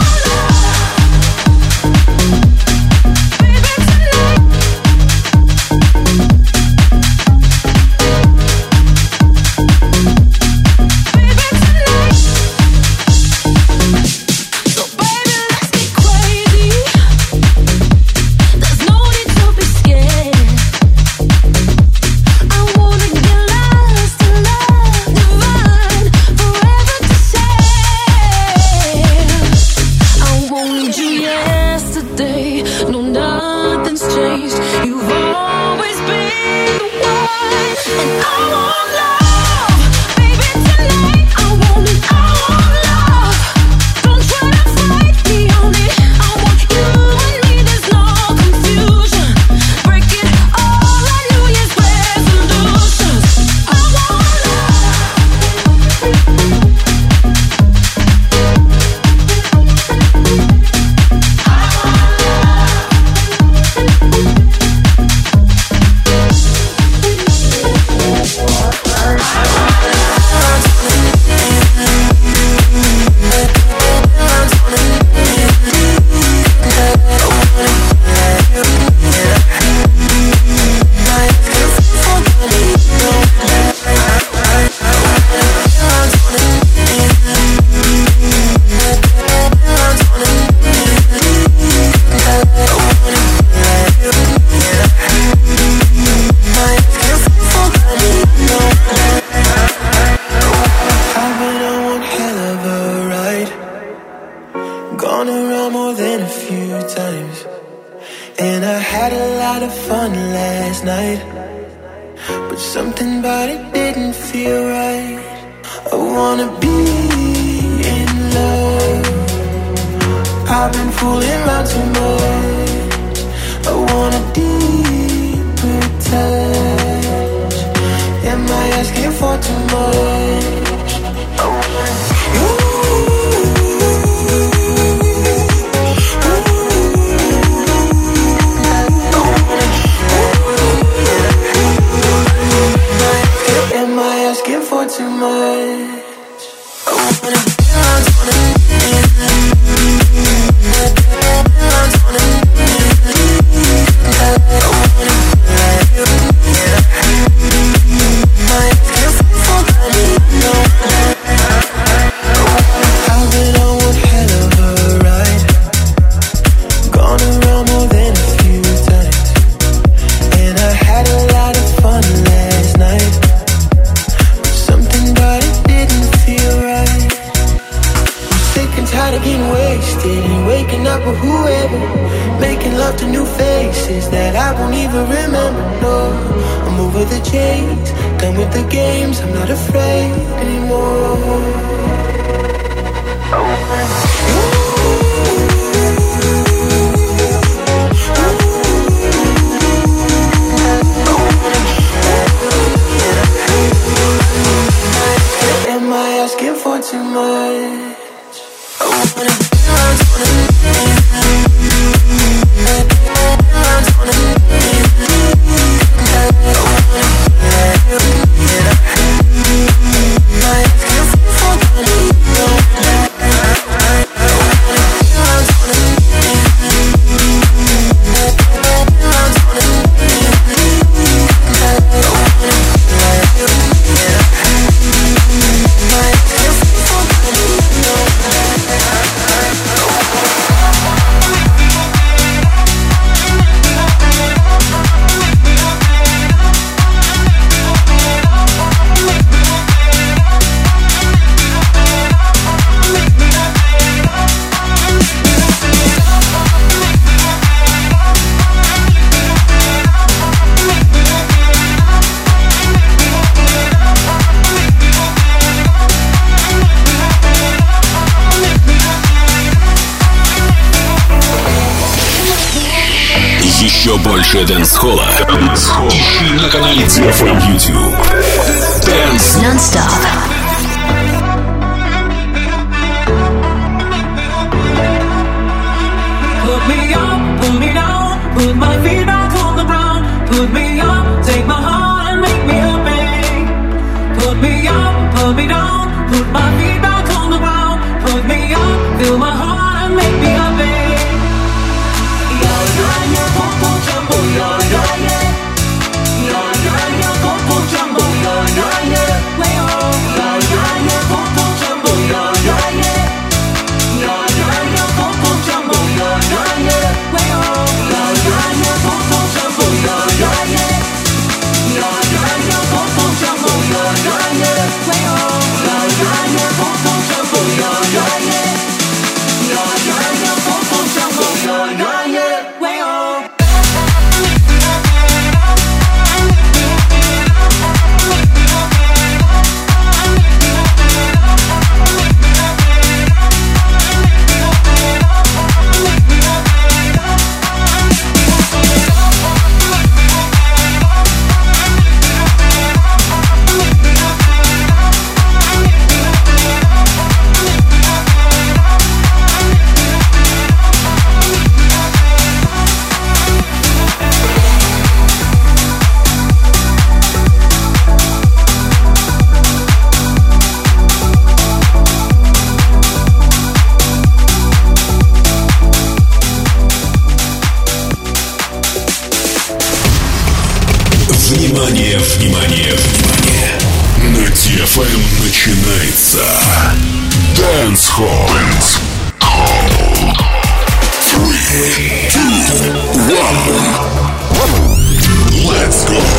Gone around more than a few times, and I had a lot of fun last night, but something about it didn't feel right. I wanna be in love. I've been fooling around too much. I want a deeper touch. Am I asking for too much? I want you. Am I asking for too much? I wanna dance, wanna dance. I've been on one hell of a ride, gone around more than a few times, and I had a lot of fun last night, but something about it didn't feel right. I'm sick and tired of getting wasted and waking up with whoever, making love to new faces that I won't even remember. No, I'm over the chase, done with the games, I'm not afraid anymore. I want you. Am I asking for too much? I wanna dance, wanna dance, wanna
Еще больше дэнс-холла ищи на канале ти эф эм YouTube. Dance Non-Stop.
Put me up, put me down, put my feet back on the ground. Put me up, take my heart and make me happy. Put me up, put me down, put my feet back on the ground. Put me up, fill my heart and make me happy.
Внимание, внимание, внимание! На ти эф эм начинается Dance Hall. Three, two, one. Let's go.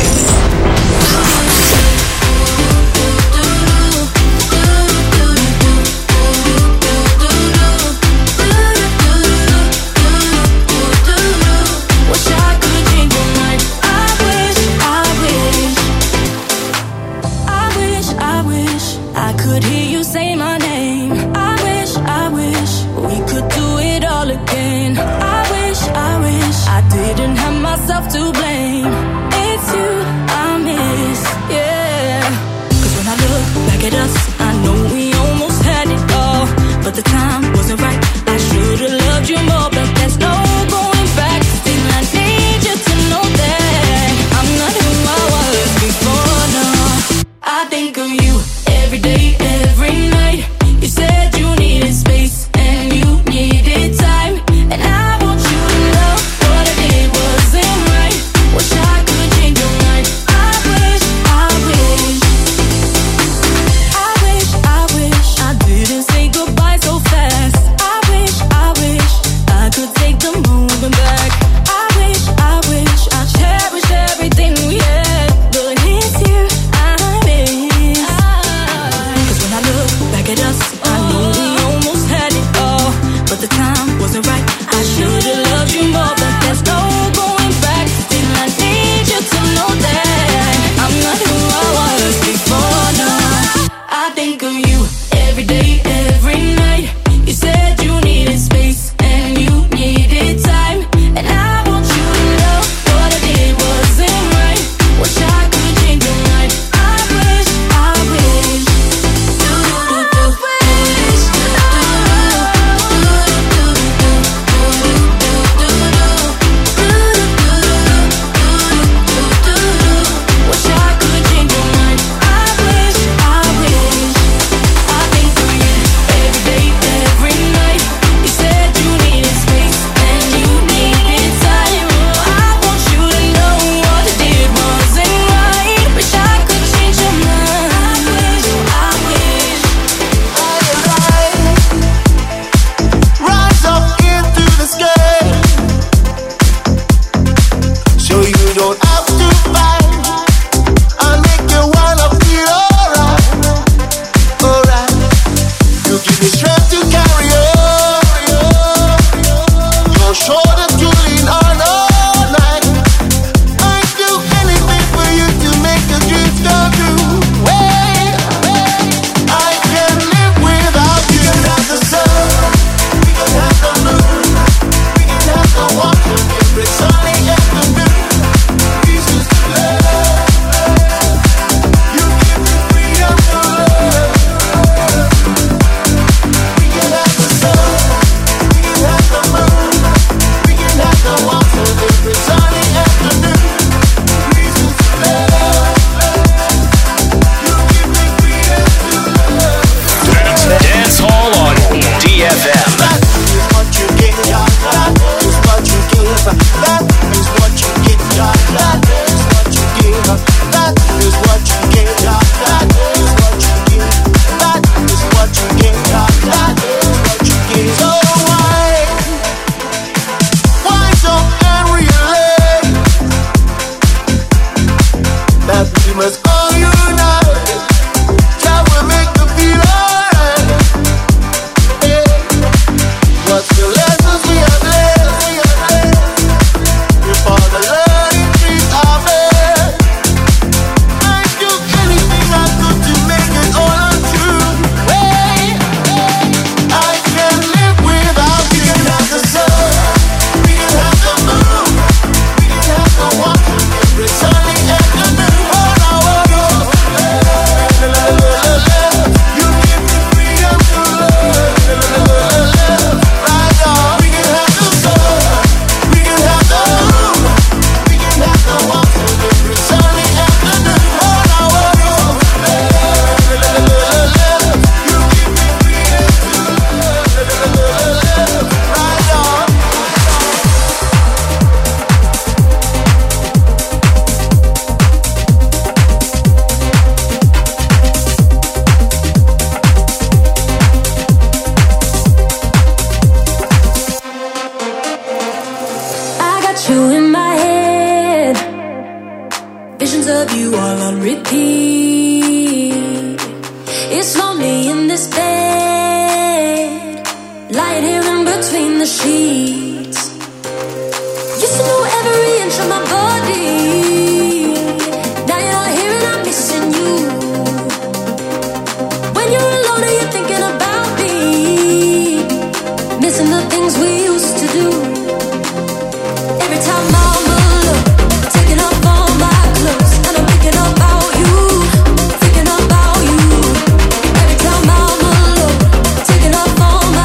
the time wasn't right. I should've loved you more, but there's no going back. Still, I need you to know that I'm not who I was before. No, I think of you every day, every night. You said you needed space and you needed time, and I want you to know what I did wasn't right. Wish I could change your mind. I wish, I wish, I wish, I wish I didn't say goodbye so fast. I wish, I wish I could take the moving back. I wish, I wish I cherish everything we had, but it's you I miss. 'Cause when I look back at us, I know we almost had it all, but the time wasn't right. I should've loved you more, but there's no going back. Still, I need you to know that I'm not who I was before. No, I think of you every day, every night. You said you needed space and you needed time, and I want you to know what I did wasn't right. Wish I could change your mind. I wish, I wish. Do do do wish. Do do Wish I could change your mind. I wish, I wish. I think of you every day, every night. You said you needed space and you needed time. I want you to know what I did wasn't right. Wish I could change your mind. I wish, I wish.
Rise up into the sky, so you don't have to fight. I'll make you wanna feel alright, alright. You give me strength to carry on, your shoulder to lean on all night. I'd do anything for you to make your dreams come true. Wait, I can't live without you. We can have the sun, we can have the moon, we can have the water, every sunny afternoon. Reasons to love, you give me freedom to love. We can have the sun, we can have the moon, we can have the water, every sunny afternoon. Reasons to love, you give me freedom to love.
Dance Hall on D F M.
That is what you get, that is what you give. That is what you get, that is what you give. That is what you get, that is what you give. That is what you get, that is what you give. So why, why so angry and late? That we must all unite. That will make you feel alright. What's the lessons we have learned? Before the learning trees are bare, I'd do anything I could to make it all untrue. Hey, I can't live without you. We can have the sun, we can have the moon, we can have the water, every sunny afternoon. Oh, no, oh, no. You give me freedom to love. Right on. We can have the sun, we can have the moon, we can have the water, every sunny afternoon. Oh, no, oh, no. You give me freedom to love. Right on.
I got you in my head, visions of you all on repeat. It's lonely in this bed, lying here in between the sheets. Used to know every inch of my body. Now you're not here and I'm missing you. When you're alone, are you thinking about me? Missing the things we used to do. Every time I'm alone, taking off all my clothes, and I'm thinking about you, thinking about you. Every time I'm alone, taking off all my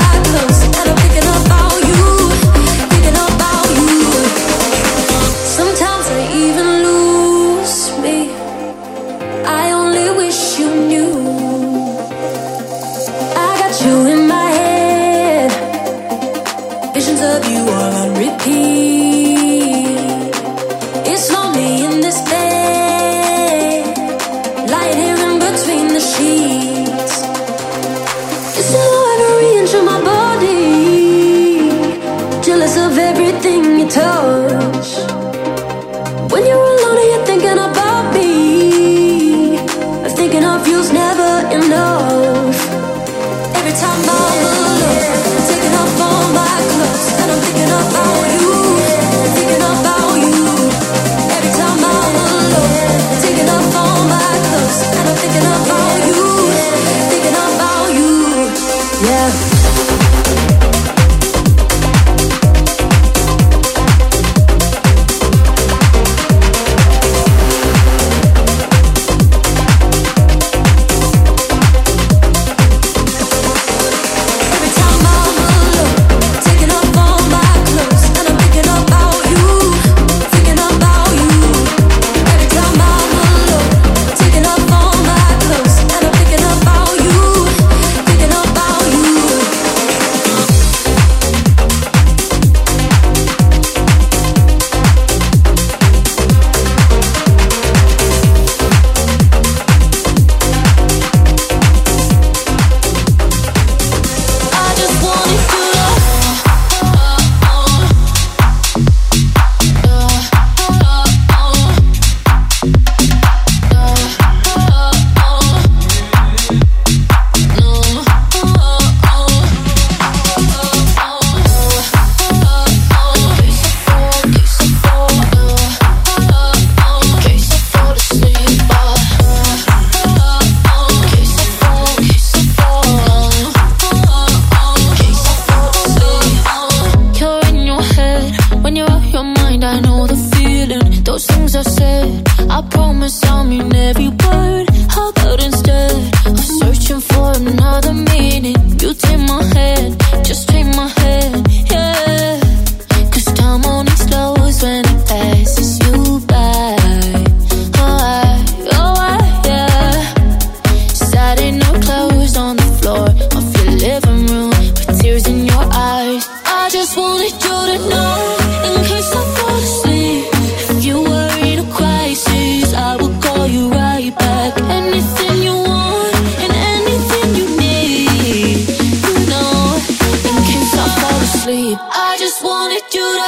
promise I'll mean every word. How about instead of searching for another meaning, you take my hand, just take my hand, yeah. Cause time only slows when it passes you by. Oh, I, oh, I, yeah. Saturday night clothes on the floor of your living room with tears in your eyes. I just wanted you to know, in case I fall asleep, if you were in a crisis, I will call you right back. Anything you want and anything you need, you know, in case I fall asleep, I just wanted you to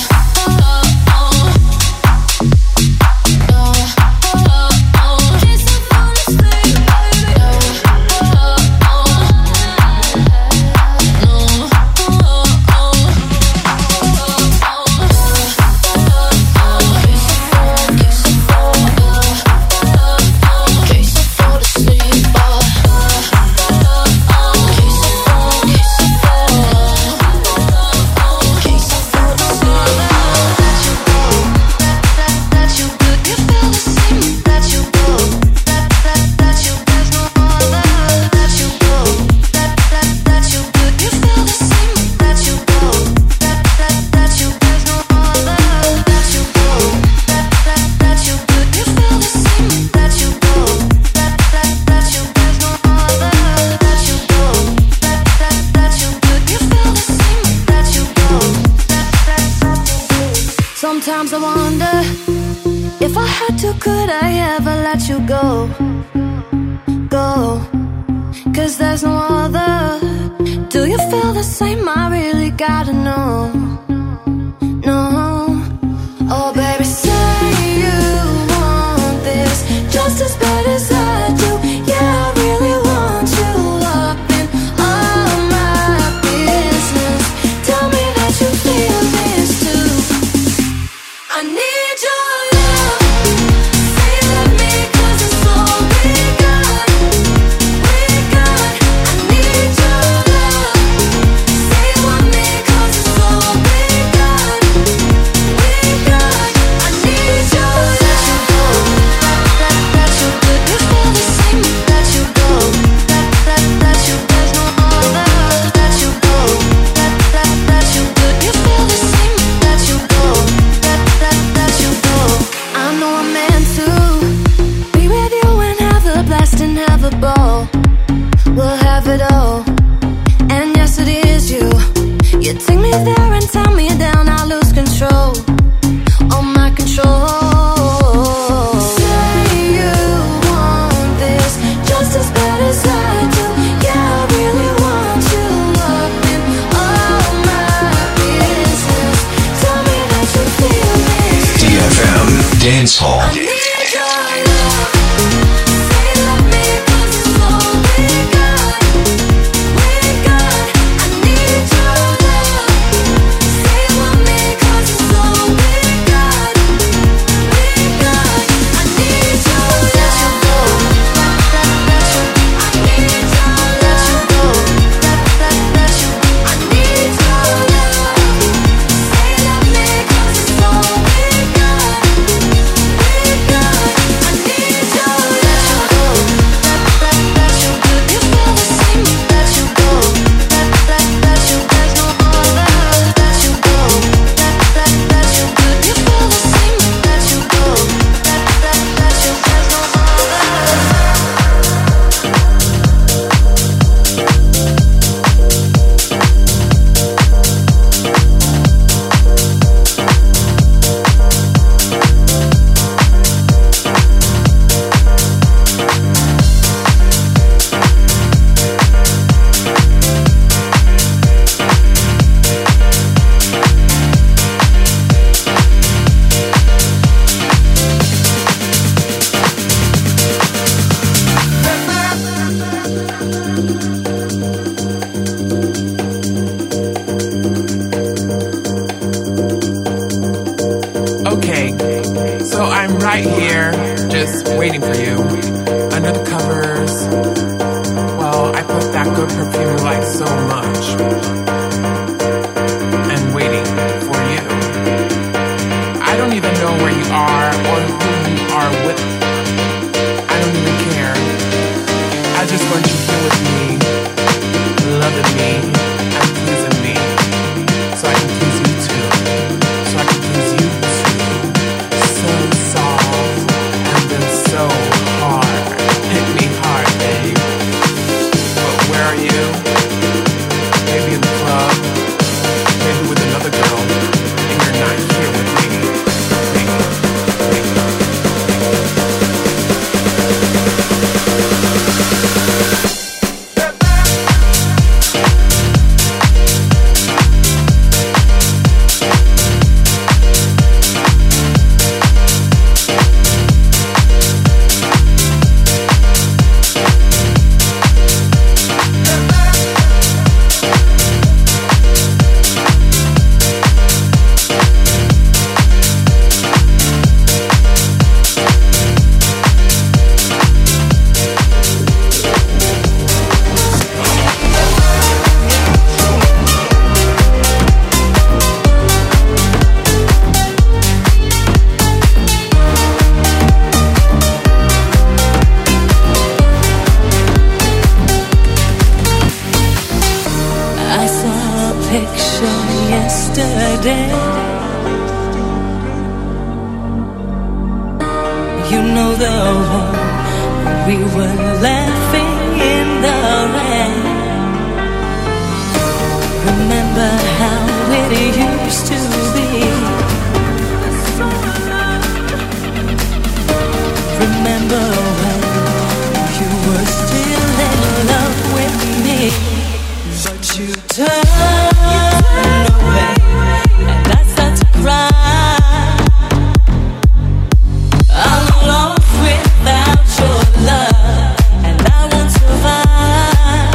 Sometimes I wonder if I had to, could I ever let you go, go? Cause there's no other. Do you feel the same? I really gotta know, no. Oh baby, say you want this just as bad as I do. Yeah, I really want you up in all my business. Tell me that you feel this too. I need your love. Say let me, cause it's all we got. We got. I need your love. Say want me, cause it's all we got. We got. I need your love. Let, let you good, you feel the same. Let you go. Let, let, let you, there's no other. Let you go. Let, let, let you good, you feel the same. Let you go. Let, let, let you go. I know I'm meant to be with you and have a blast and have a ball. We'll have it all. And yes, it is you. You take me there and tie me down. I lose control. All my control. Say you want this just as bad as I do. Yeah, I really want you up in all my business. Tell me that you feel this.
ди эф эм Dance Hall.
I need your love. Say let me, cause it's all we got. We got. I need your love. Say want me, cause it's all we got. We got. I need your love. Let, let, let you. I need your love. Let, let, let you. I need your love. Say let me, cause it's all we got. We got. I need your love. Let, let, let you. Good, you feel the same. Let you go. Let, let, let you. There's no other. Let you go. Let, let, let you. Good, you feel the same. Let you go. Let, let, let you. There's no other.
Okay, so I'm right here, just waiting for you, under the covers. Well, I put that good perfume you like so much, and waiting for you. I don't even know where you are or who you are with.
I saw a picture yesterday. You know the one we were laughing in the rain. Remember how it used to be. Remember when you were still in love with me. But you turned away and I started to cry. I'm lost without your love and I won't survive.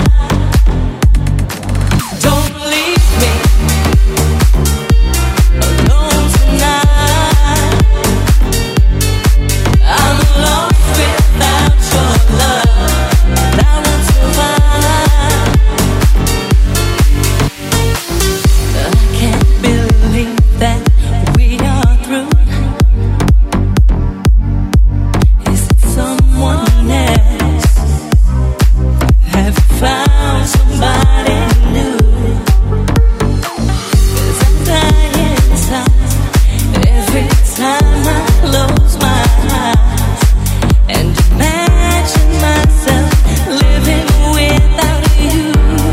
Don't leave me alone tonight. I'm lost without your love and I won't survive. I can't believe that we are through. Is it someone else? Have you found somebody new? 'Cause I'm dying inside every time I close my eyes and imagine myself living without you.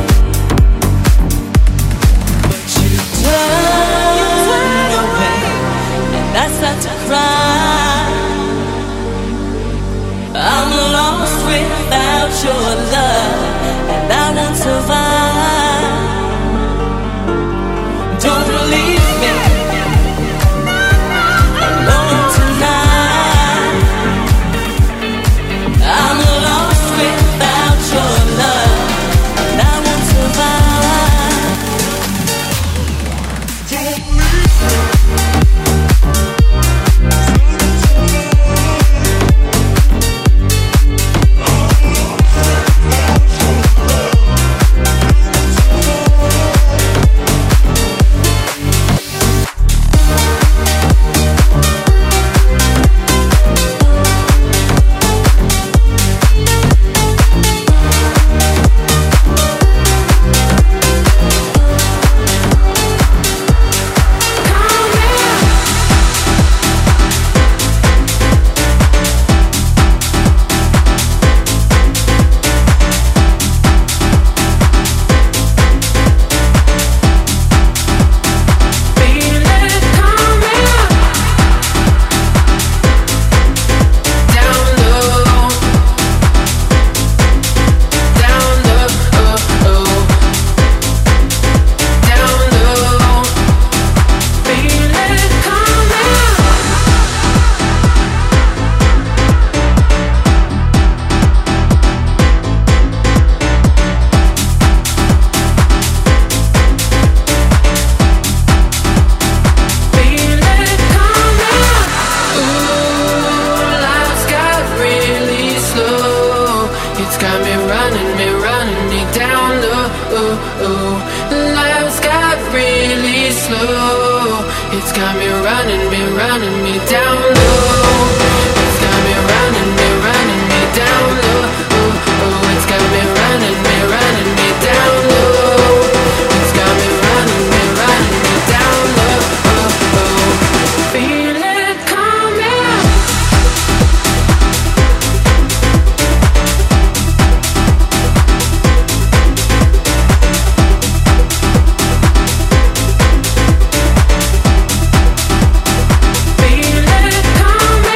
But you turn away and I start to cry. I'm lost without your love and I won't survive. Don't leave me alone tonight. I'm lost without your love and I won't survive. Don't leave me.
It's got me running, me running me down low. It's got me running, me running me down low. Oh, oh, it's got me running, me running me down low. It's got me running, me running me down low. Oh, oh, feel it coming. Feel it coming.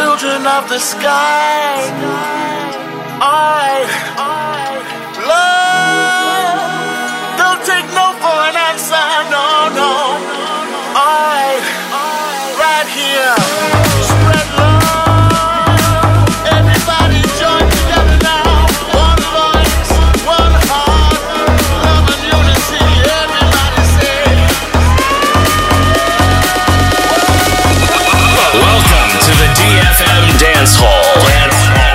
children of the sky. Alright, love, don't take no for an answer, no, no. Alright, right here, spread love. Everybody join together now. One voice, one heart, love and unity. Everybody say.
Welcome to the D F M Dance Hall. Dance Hall.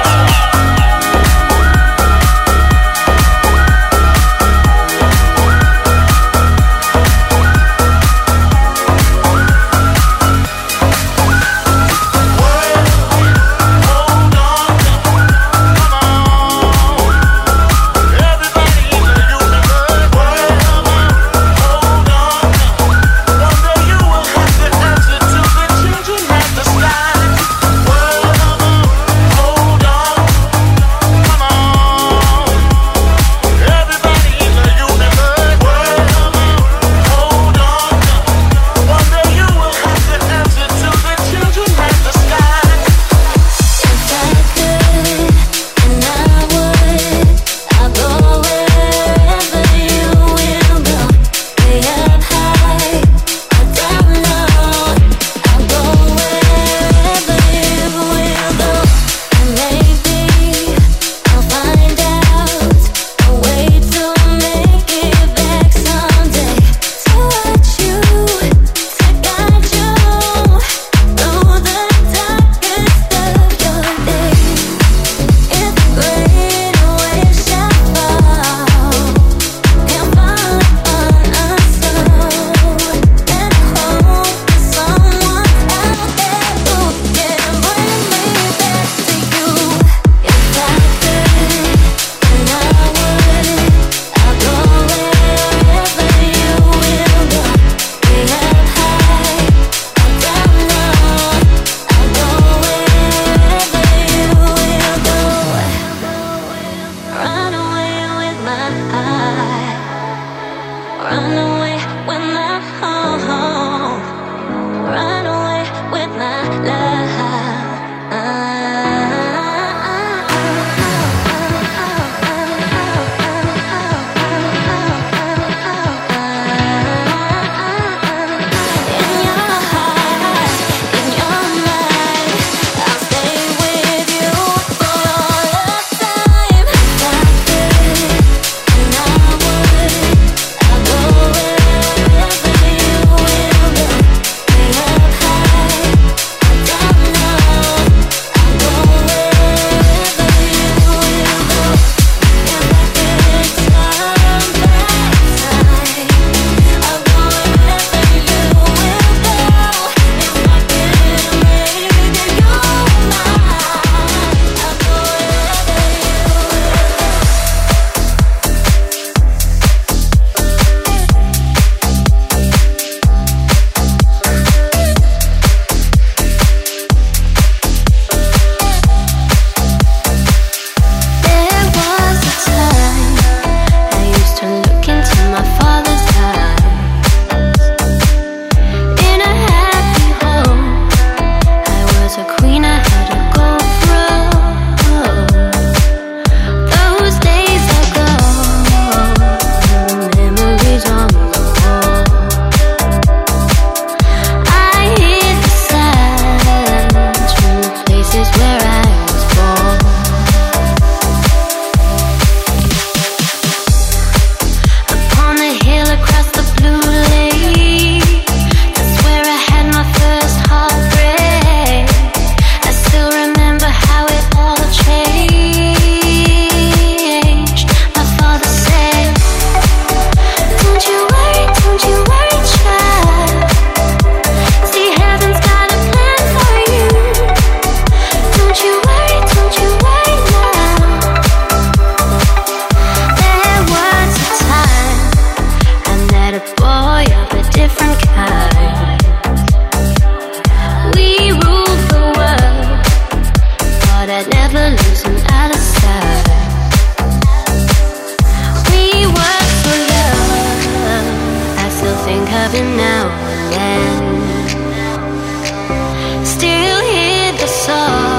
loving now and then. Still hear the song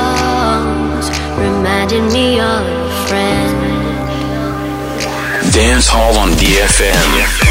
Imagine me your friend.
Dance Hall on D F M.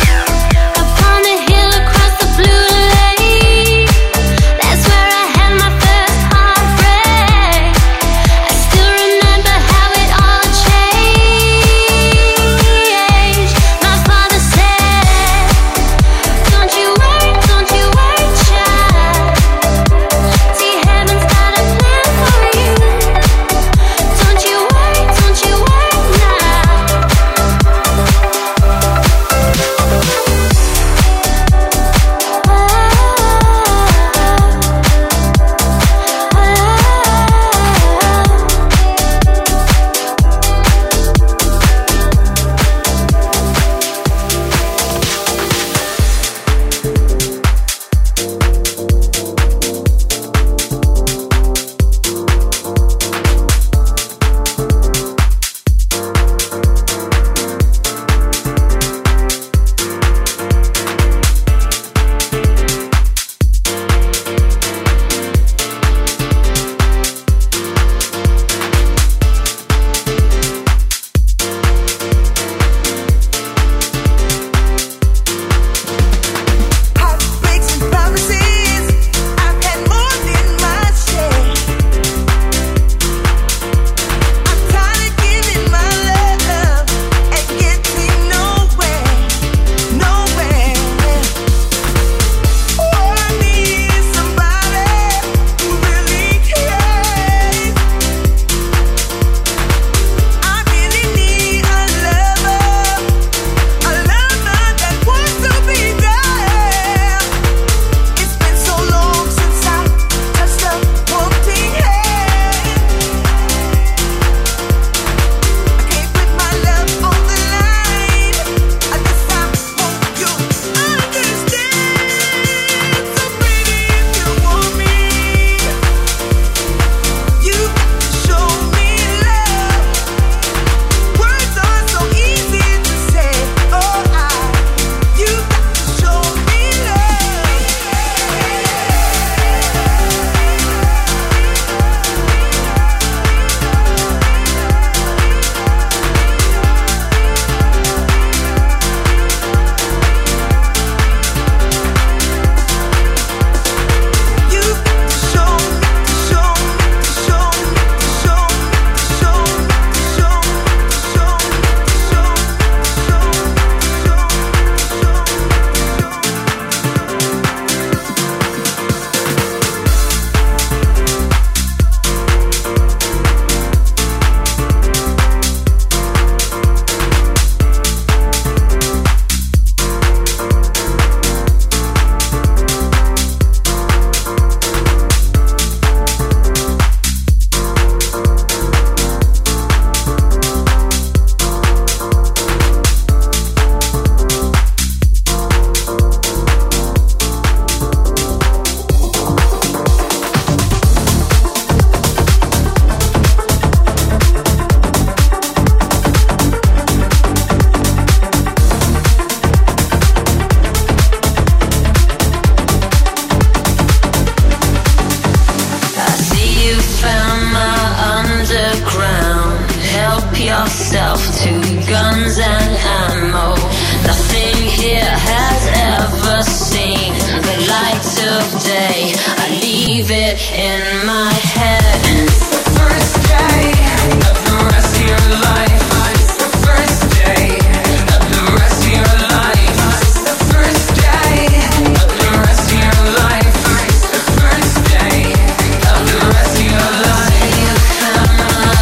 yourself to guns and ammo. Nothing here has ever seen the light of day. I leave it in my head. It's the first day of the rest of your life. It's the first day of the rest of your life. It's the first day of the rest of your life. It's the first day of the rest of your life. You found my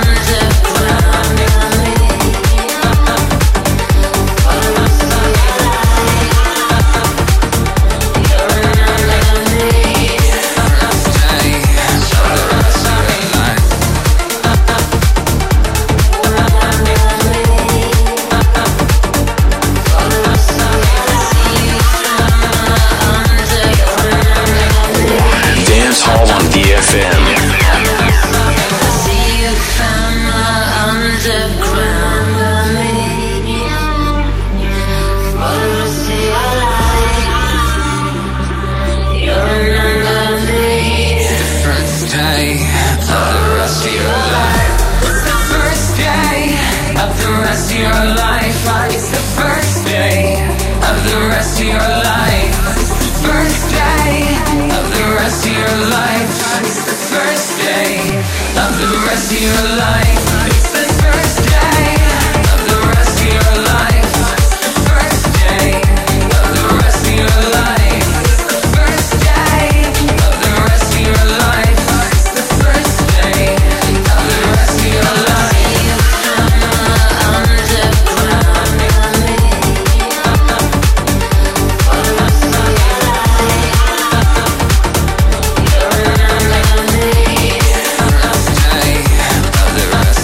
underground. You're an enemy. Stay.
of the rest of your life. It's the first day of the rest of your life. It's the first day of the rest of your life. First day of the rest of your life. It's the first day of the rest of your life. It's the first day of the rest of your life. It's the first day of the rest of your life. It's the first day of the rest of your life. It's the first day of the rest of your life. Of the rest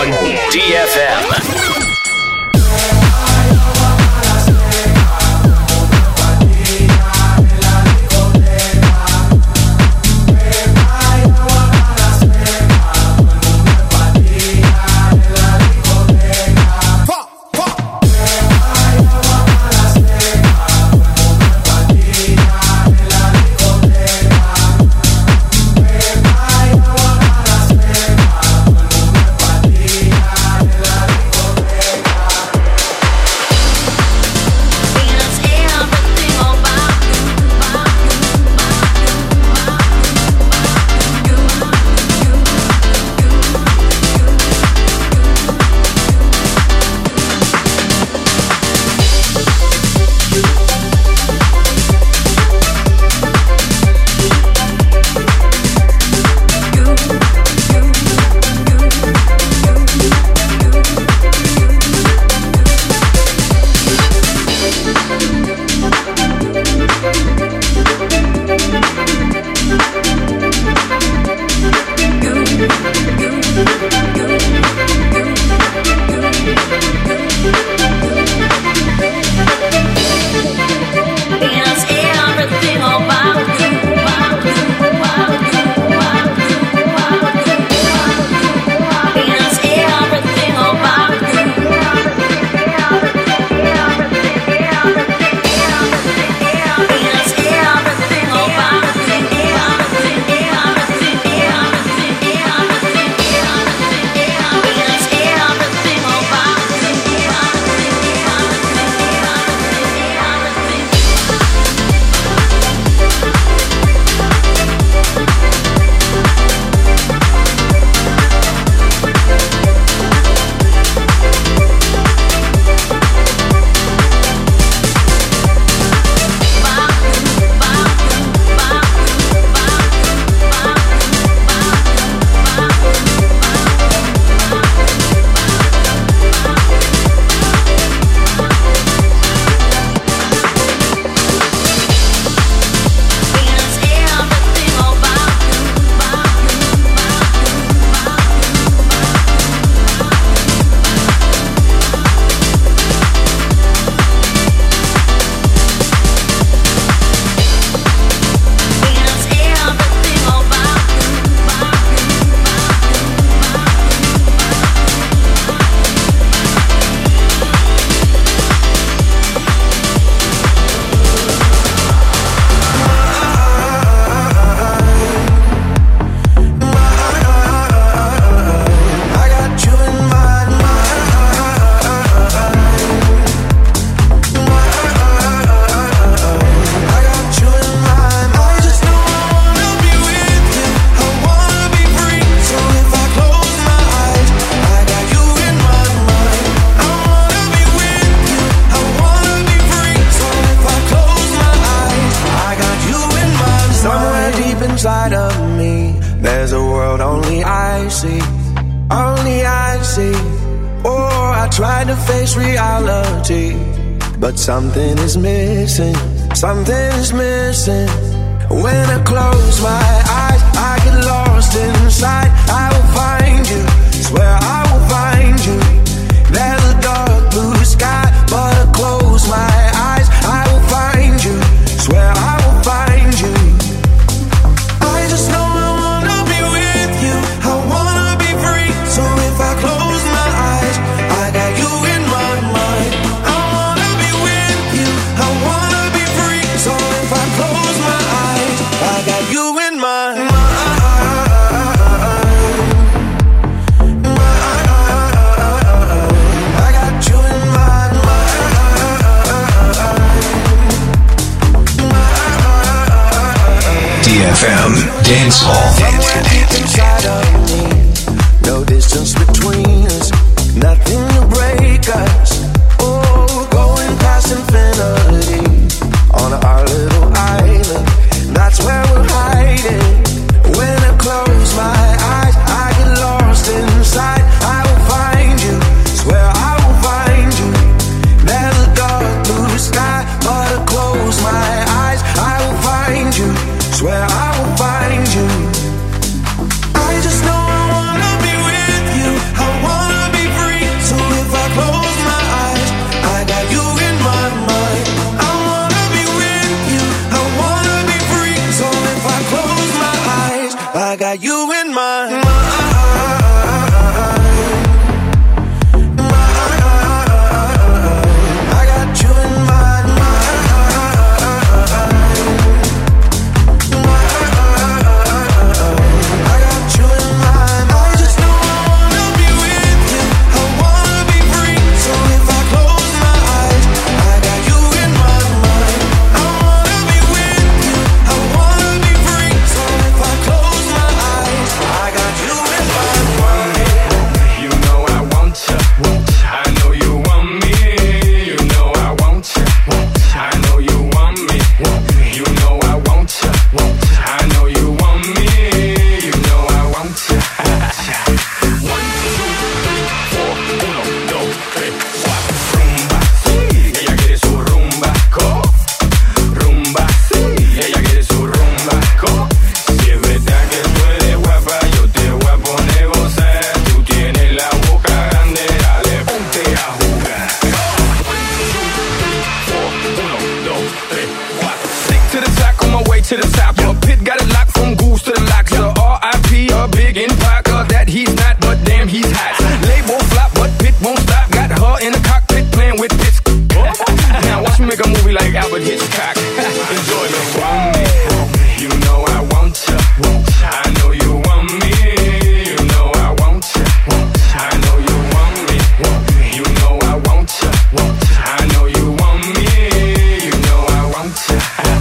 on D F M.
inside of me. There's a world only I see, only I see. Oh, I tried to face reality, but something is missing, something is missing. When I close my eyes, I get lost inside. I will find you, swear I will find you. There's a dark blue sky, but I close my eyes, I will find you, swear I will find you. I just know I wanna be with you, I wanna be free. So if I close my eyes, I got you in my mind. I wanna be with you, I wanna be free. So if I close my eyes, I got you in my mind.
D F M Dance Hall.
Somewhere deep inside of me, no distance between us, nothing to break us. Oh, going past infinity on our little island. That's where we're hiding. When I close my eyes, I get lost inside. I will find you, swear I will find you. There's a dark blue sky, but I close my eyes, I will find you. Swear I will find you. I just know
to the top. Uh, Pit got it locked from goose to the locks. Uh, R I P, a big in Parker. That he's not, but damn, he's hot. Label flop, but Pit won't stop. Got her in the cockpit playing with Pitts. Now watch me make a movie like Albert Hitchcock. Enjoy me. Want me, you know I want ya. I know you want me, you know I want ya. I know you want me, you know I want ya. I know you want me, you know I want ya.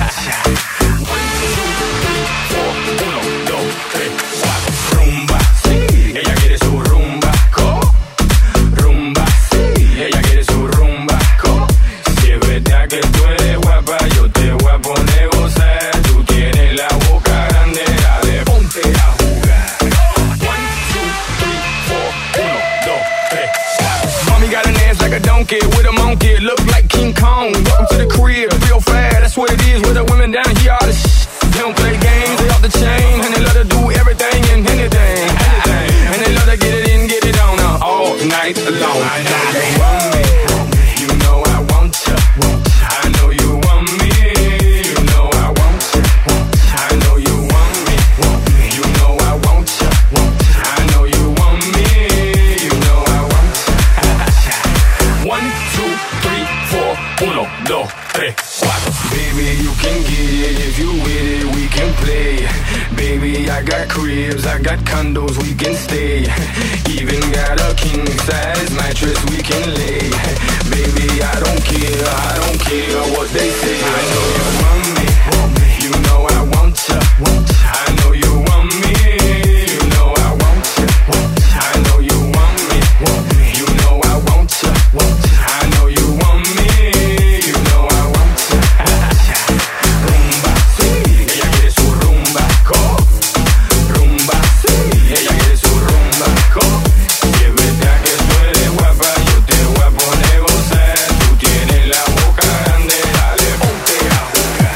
One, two, three, four, uno, dos, tres, cuatro. Rumba, sí, ella quiere su rumba, co. Rumba, sí, ella quiere su rumba, co. Si es verdad que tú eres guapa, yo te voy a poner gozar. Tú tienes la boca grande, dale, ponte a jugar. One, two, three, four, uno, dos, tres, cuatro. Mommy got an ass like a donkey with a monkey, look like King Kong. Welcome to the crib, real fast, that's what it is with the women down here. All the sh- they don't play games, they off the chain, and they love to do everything and anything, anything. And they love to get it in, get it on uh, all night long. I know you want me, you know I want ya. I know you want me, you know I want ya. I know you want me, you know I want ya. I know you want me, you know I want ya. One, two, three, four, uno, dos, tres, cuatro. Baby, you can get it if you with it, we can play. Baby, I got cribs, I got condos, we can stay. Even got a king size mattress we can lay. Baby, I don't care, I don't care what they say. I know you want me, you know I want ya. I know you want me, you know I want ya. I know you want me, you know I want ya. I know you want me, you know I want ya. Rumba, sí, ella quiere su rumba, co. Rumba, sí, ella quiere su rumba, co. Si es verdad que tú eres guapa, yo te voy a poner gozar. Tú tienes la boca grande, dale, ponte a jugar.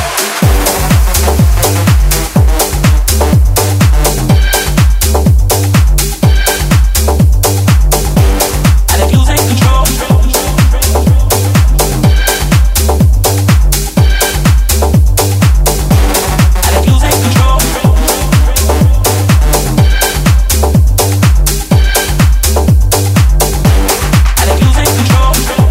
And if you take control, and if you take control, and if you take control,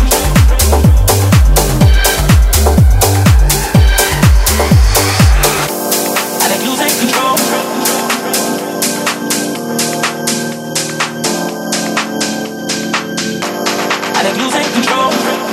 and if you take control, and if you take control,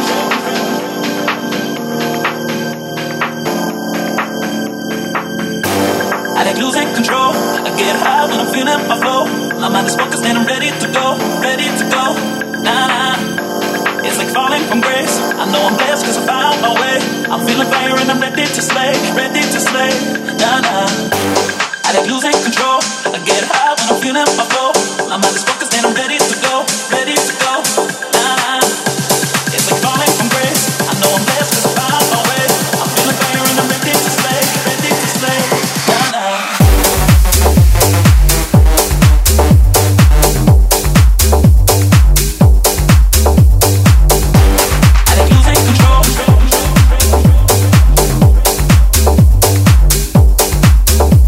and if you take control, I get high when I'm feeling my flow. My mind is focused and I'm ready to go, ready to go. Nah, nah. It's like falling from grace. I know I'm blessed cause I found my way. I'm feeling fire and I'm ready to slay, ready to slay. Nah, nah. And if you take control, I get high when I'm feeling my flow. My mind is focused and I'm ready to go, ready to go. Nah, nah. It's like falling from grace. I know I'm blessed cause I found my way. I'm feeling fire and I'm ready to slay, ready to slay. Nah, nah. And if you take control,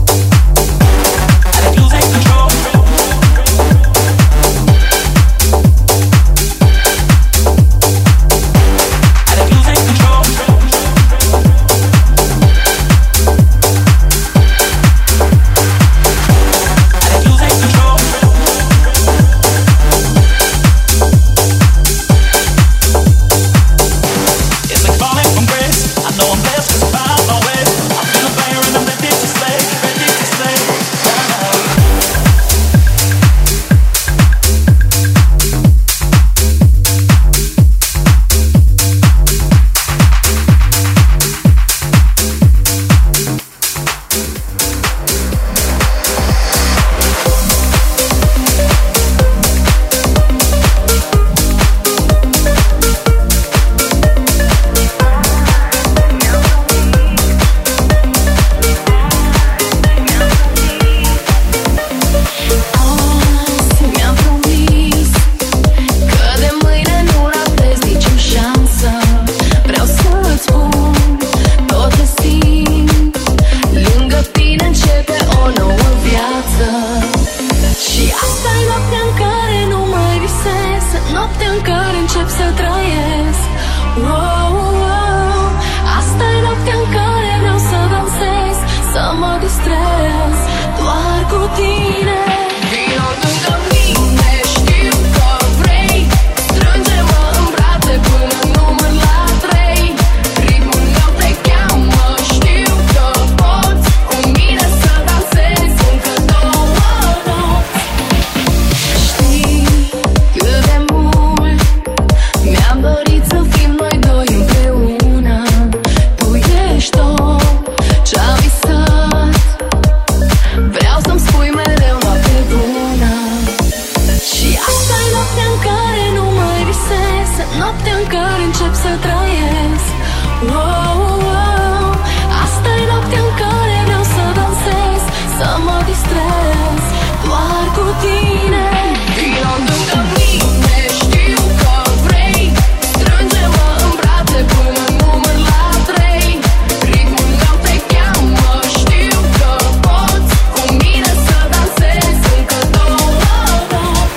doriți să fim noi doi împreună. Tu ești tot ce-am visat. Vreau să-mi spui mereu noapte bună. Și asta e noaptea în care nu mai visez, noaptea în care încep să trăiesc. Wow, wow. Asta e noaptea în care vreau să dansez, să mă distrez doar cu tine. Vino lângă mine, știu că vrei. Strânge-mă în brațe până număr la trei. Ritmul meu te cheamă, știu că poți cu mine să dansezi încă două nopți.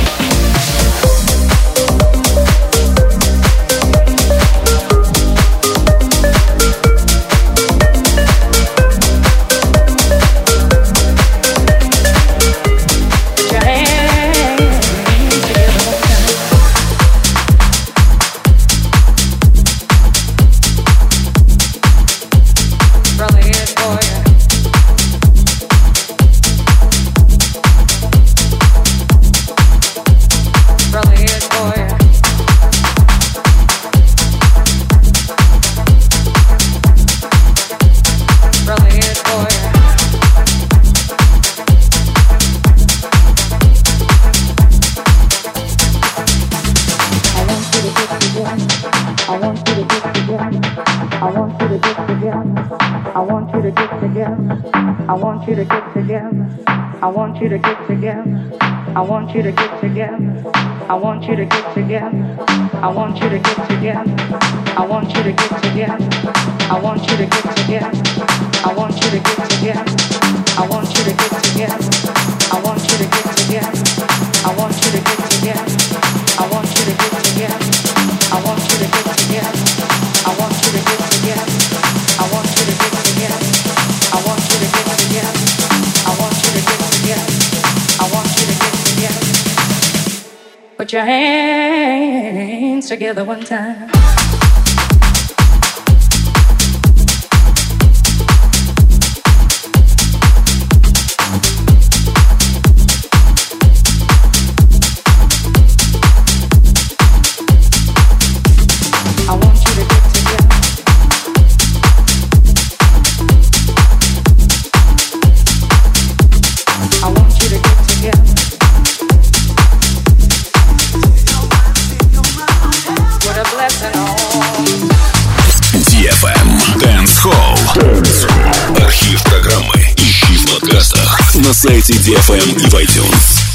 I want you to get together. I want you to get together. I want you to get together. I want you to get together. I want you to get together. I want you to get together. I want you to get together. I want you to get together. I want you to get together. I want you to get together. I want you to get together. I want you to get together. I want you to get together. I want you to get together. I want you to get together. I want you to get together. I want you to get together. I want you to get together. Put your hands together one time.
ди эф эм Dance Hall. Архив программы ищи в подкастах на сайте ди эф эм и в iTunes.